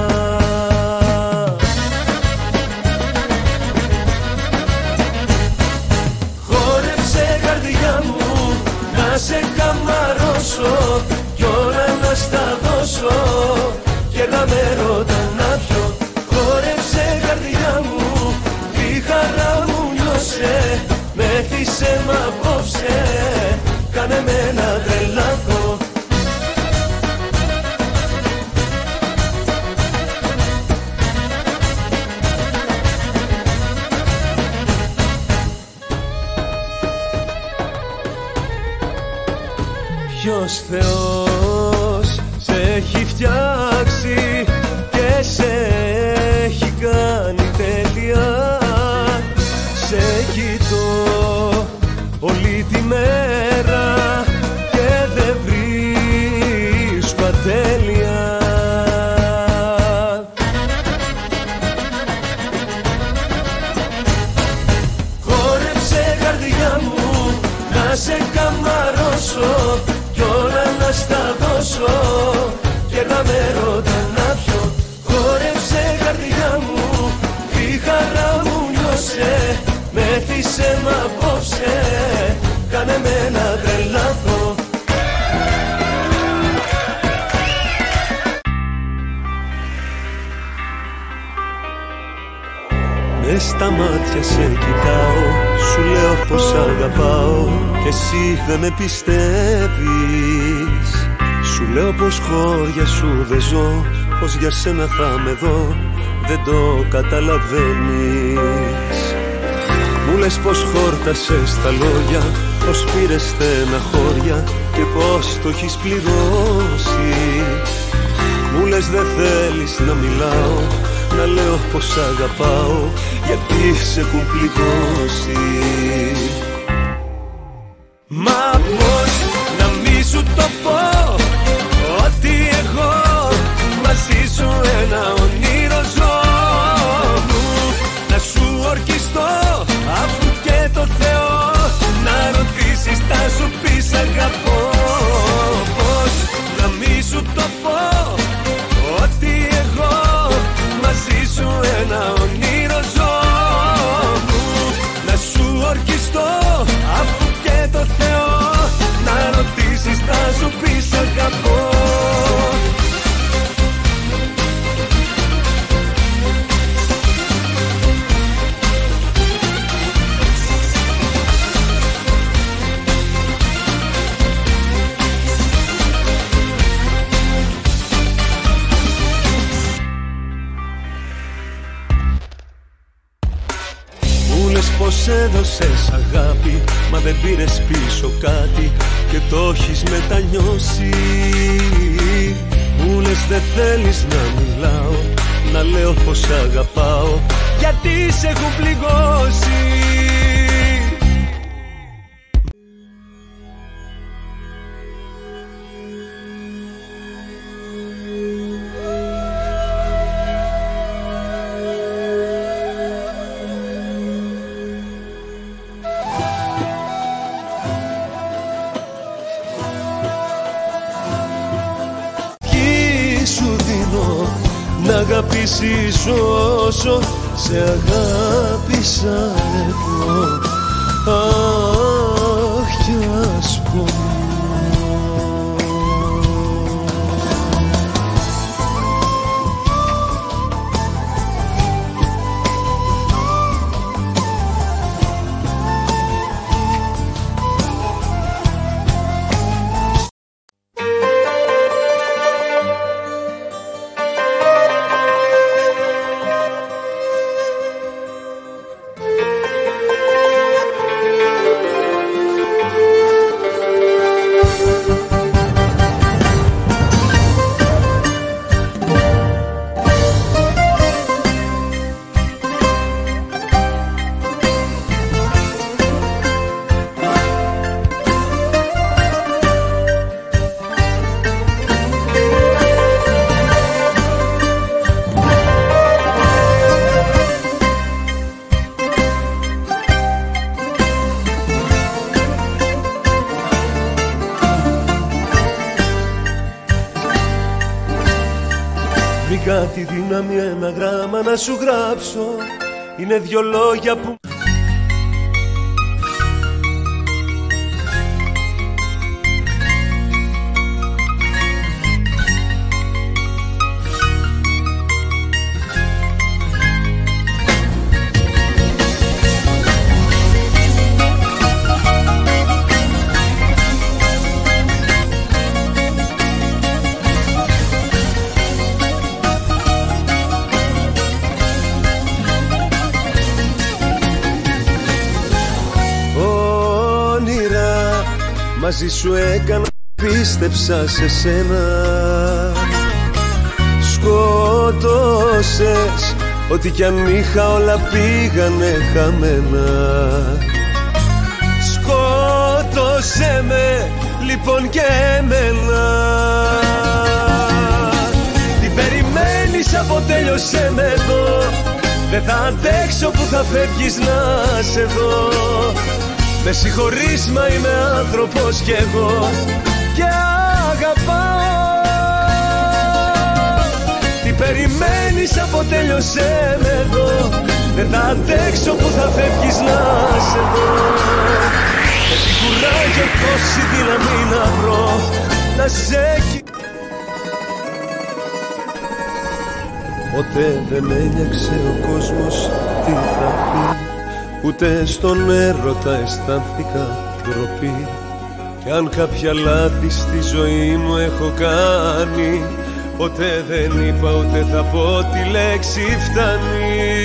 Χόρεψε καρδιά μου να σε καμαρώσω κι όλα να στα δώσω και να με ρωτά να πιω. Χόρεψε καρδιά μου, τη χαρά μου νιώσε, μέθησε μ' απόψε, κάνε με να τρελαθώ. Ποιος Θεός σε έχει φτιάξει και σε έχει κάνει τέλεια. Σε κοιτώ όλη τη μέρα και δεν βρίσκω ατέλεια. Χόρεψε καρδιά μου να σε καμαρώσω κι όλα να στα δώσω και να με ρωτά να πιω. Χόρεψε καρδιά μου, τη χαρά μου νιώσε, Μέθησε μ' απόψε, κάνε με να τρελαθώ. Μες στα μάτια σε κοιτάω, σου λέω πως αγαπάω και εσύ δεν με πιστεύεις. Σου λέω πως χώρια σου δεν ζω, πως για σένα θα με δω, δεν το καταλαβαίνεις. Μου λες πως χόρτασες τα λόγια, πως πήρες στεναχώρια και πως το έχεις πληρώσει. Μου λες δεν θέλεις να μιλάω, να λέω πως αγαπάω, γιατί σε έχουν πληγώσει. Μα πως να μη σου το πω, ότι εγώ μαζί σου ένα όνειρο ζω. Να σου ορκιστώ, αφού και το Θεό να ρωτήσεις θα σου πεις αγαπώ. Πως να μη σου το πω, ότι εγώ μαζί σου ένα όνειρο ζω. Να σου ορκιστώ, αφού και το Θεό να ρωτήσεις θα σου πεις αγαπώ. Πως έδωσες αγάπη, μα δεν πήρες πίσω κάτι και το έχεις μετανιώσει. Μου λες δεν θέλεις να μιλάω, να λέω πως αγαπάω, γιατί σε έχουν πληγώσει. Να αγαπήσεις όσο σε αγάπησα εγώ. Αχ, κι ας πω. Βρήκα τη δύναμη ένα γράμμα να σου γράψω. Είναι δυο λόγια που μαζί σου έκανα, πίστεψα σε σένα. Σκότωσες, ό,τι κι αν είχα όλα πήγανε χαμένα. Σκότωσέ με, λοιπόν και εμένα. Τι περιμένεις, αποτέλειωσέ με εδώ. Δεν θα αντέξω που θα φεύγεις να σε δω. Με συγχωρείς, μα είμαι άνθρωπος κι εγώ και αγαπάω. Τι περιμένεις από τέλειωσέ με εδώ. Δεν θα αντέξω που θα φεύγεις να σε δω. Με την κουράγιο τόση δύναμη να βρω να σε Ποτέ δεν ένιωξε ο κόσμος τι θα πει, ούτε στον έρωτα αισθάνθηκα ντροπή. Κι αν κάποια λάθη στη ζωή μου έχω κάνει, ποτέ δεν είπα ούτε θα πω τη λέξη φτάνει.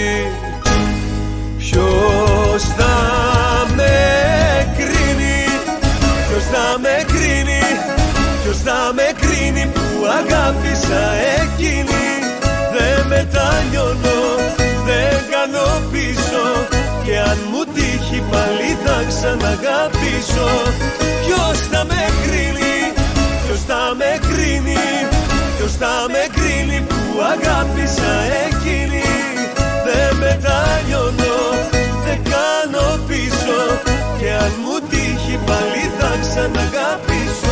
Ποιος θα με κρίνει, ποιος θα με κρίνει, ποιος θα με κρίνει που αγάπησα εκείνη. Δεν μετανιώνω, δεν κάνω πίσω, και αν μου τύχει πάλι θα ξαναγαπήσω. Ποιος θα με κρίνει, ποιος θα με κρίνει, ποιος θα με κρίνει που αγάπησα εκείνη. Δεν μετανιώνω, δεν κάνω πίσω, και αν μου τύχει πάλι θα ξαναγαπήσω.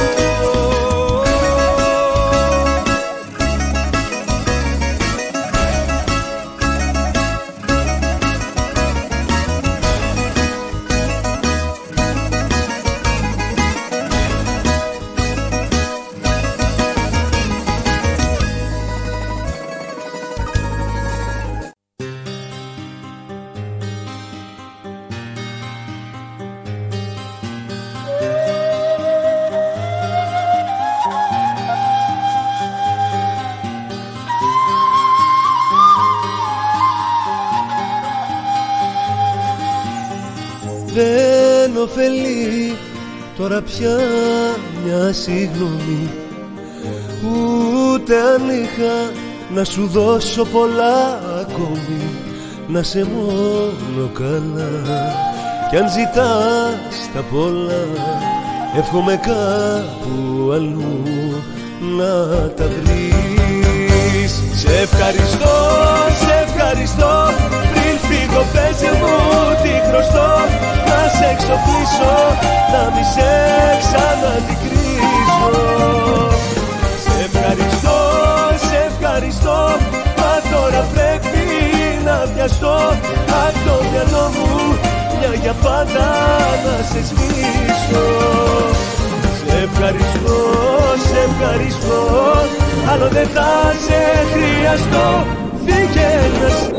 Δεν ωφελεί τώρα πια μια συγγνώμη, ούτε αν είχα να σου δώσω πολλά ακόμη. Να σε μόνο καλά, κι αν ζητάς τα πολλά, εύχομαι κάπου αλλού να τα βρεις. Σε ευχαριστώ, σε ευχαριστώ, πριν φύγω πες μου τι χρωστώ. Να σε εξοπλίσω, να μη σε ξαναντικρίζω. Σε ευχαριστώ, σε ευχαριστώ, μα τώρα πρέπει να βιαστώ. Απ' το μυαλό μου μια για πάντα να σε σβήσω. Σε ευχαριστώ, σε ευχαριστώ, άλλο δεν θα σε χρειαστώ. Φύγε να σε...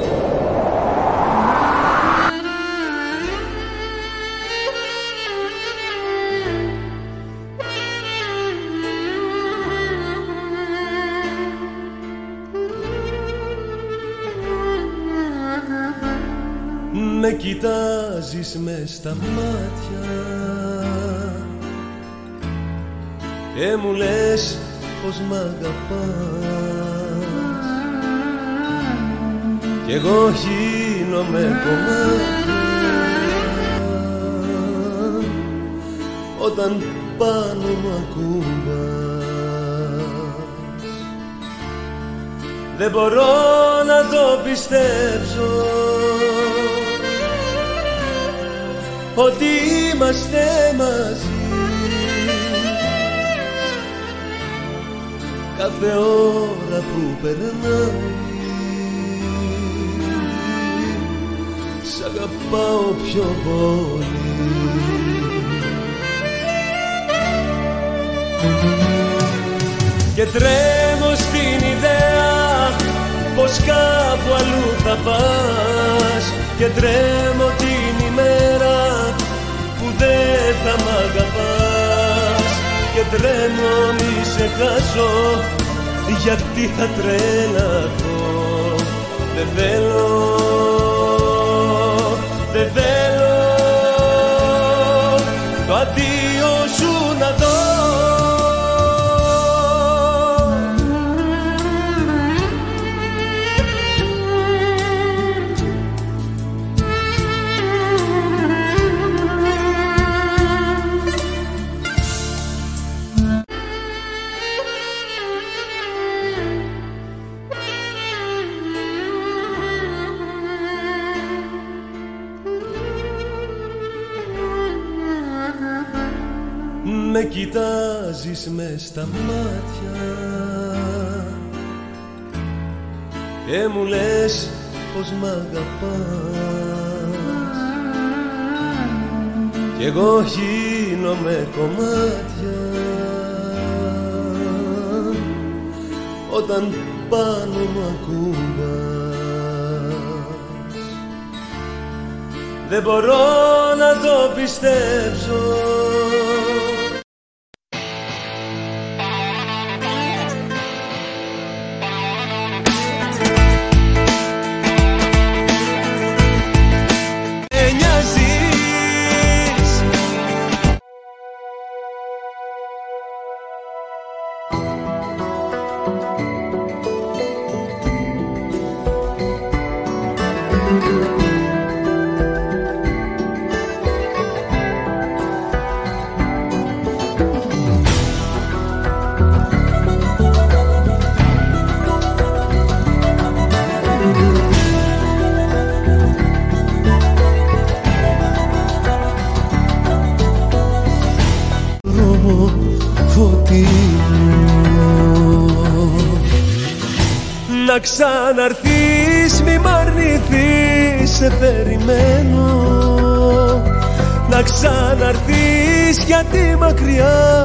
Με κοιτάζεις μες στα μάτια και μου λες πως μ' αγαπάς, κι εγώ γίνομαι κομμάτια όταν πάνω μου ακουμπάς. Δεν μπορώ να το πιστέψω ότι είμαστε μαζί. Κάθε ώρα που περνάει σ' αγαπάω πιο πολύ. Και τρέμω στην ιδέα πως κάπου αλλού θα πας, και τρέμω την ημέρα που δεν θα μ' αγαπάς. Και τρέμω μη σε χάσω, γιατί θα τρελαθώ. Δεν θέλω, δεν θέλω το αντίο σου να δω. Με κοιτάζεις μες στα μάτια και μου λες πως μ' αγαπάς κι εγώ γίνομαι κομμάτια όταν πάνω μου ακουμπάς. Δεν μπορώ να το πιστέψω. Να ξαναρθείς, μη μ' αρνηθείς, σε περιμένω. Να ξαναρθείς γιατί μακριά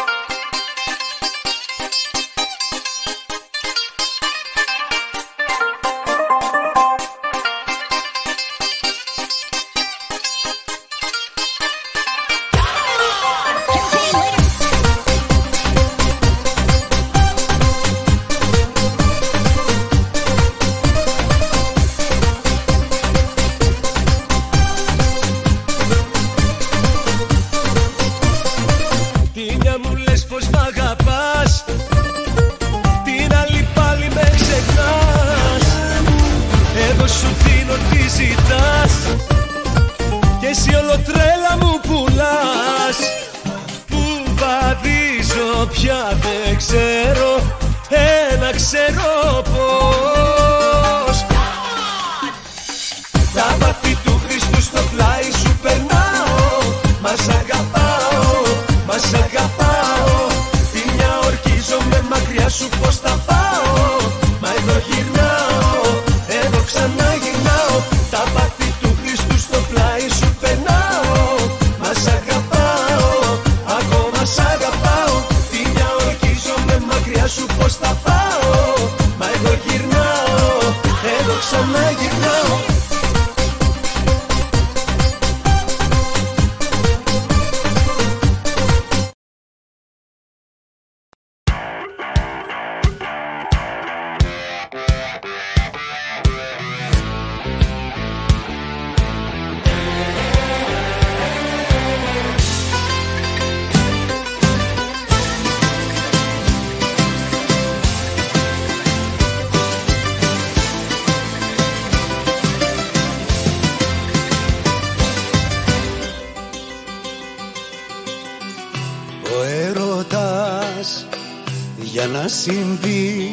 για να συμβεί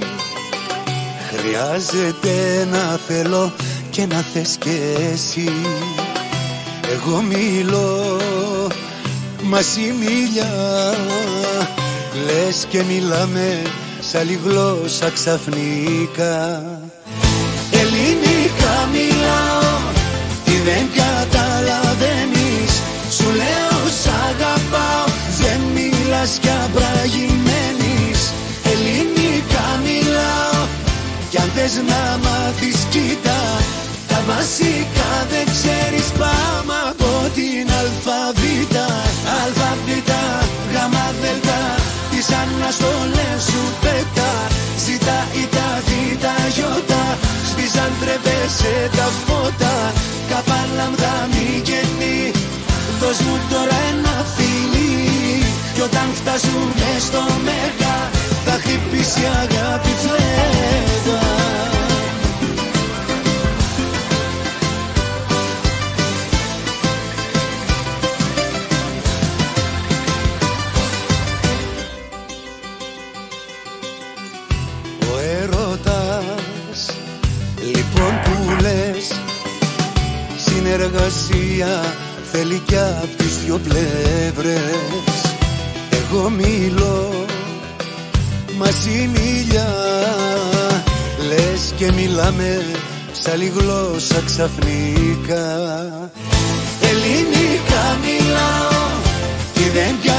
χρειάζεται να θέλω και να θες κι εσύ. Εγώ μιλώ, μαζί μιλιά, λες και μιλάμε σ' άλλη γλώσσα ξαφνικά. Ελληνικά μιλάω, τι δεν καταλαβαίνεις, σου λέω σ' αγαπάω, δεν μιλάς κι αμπραγημένης. Ελληνικά μιλάω, κι αν θες να μάθεις κοίτα, τα βασικά δεν ξέρεις, πάμε από την αλφαβήτα. Αλφαβήτα, γάμα δελτα, τις αναστολές σου πέτα. Ζήτα ή τα βήτα γιώτα, σβήσαν τρεπέσαι τα φώτα. Καπά λάμδα μη γεννή, δώσ' μου τώρα ένα φιλί. Κι όταν φτάσουμε στο μέγα, θα χτυπήσει η αγάπη φλέγα. Ο έρωτας, λοιπόν που λες, συνεργασία θέλει κι απ' τις δυο πλευρές. Εγώ μιλώ, μαζί μιλιά, Λες και μιλάμε σ' άλλη γλώσσα ξαφνικά. Ελληνικά μιλάω και δεν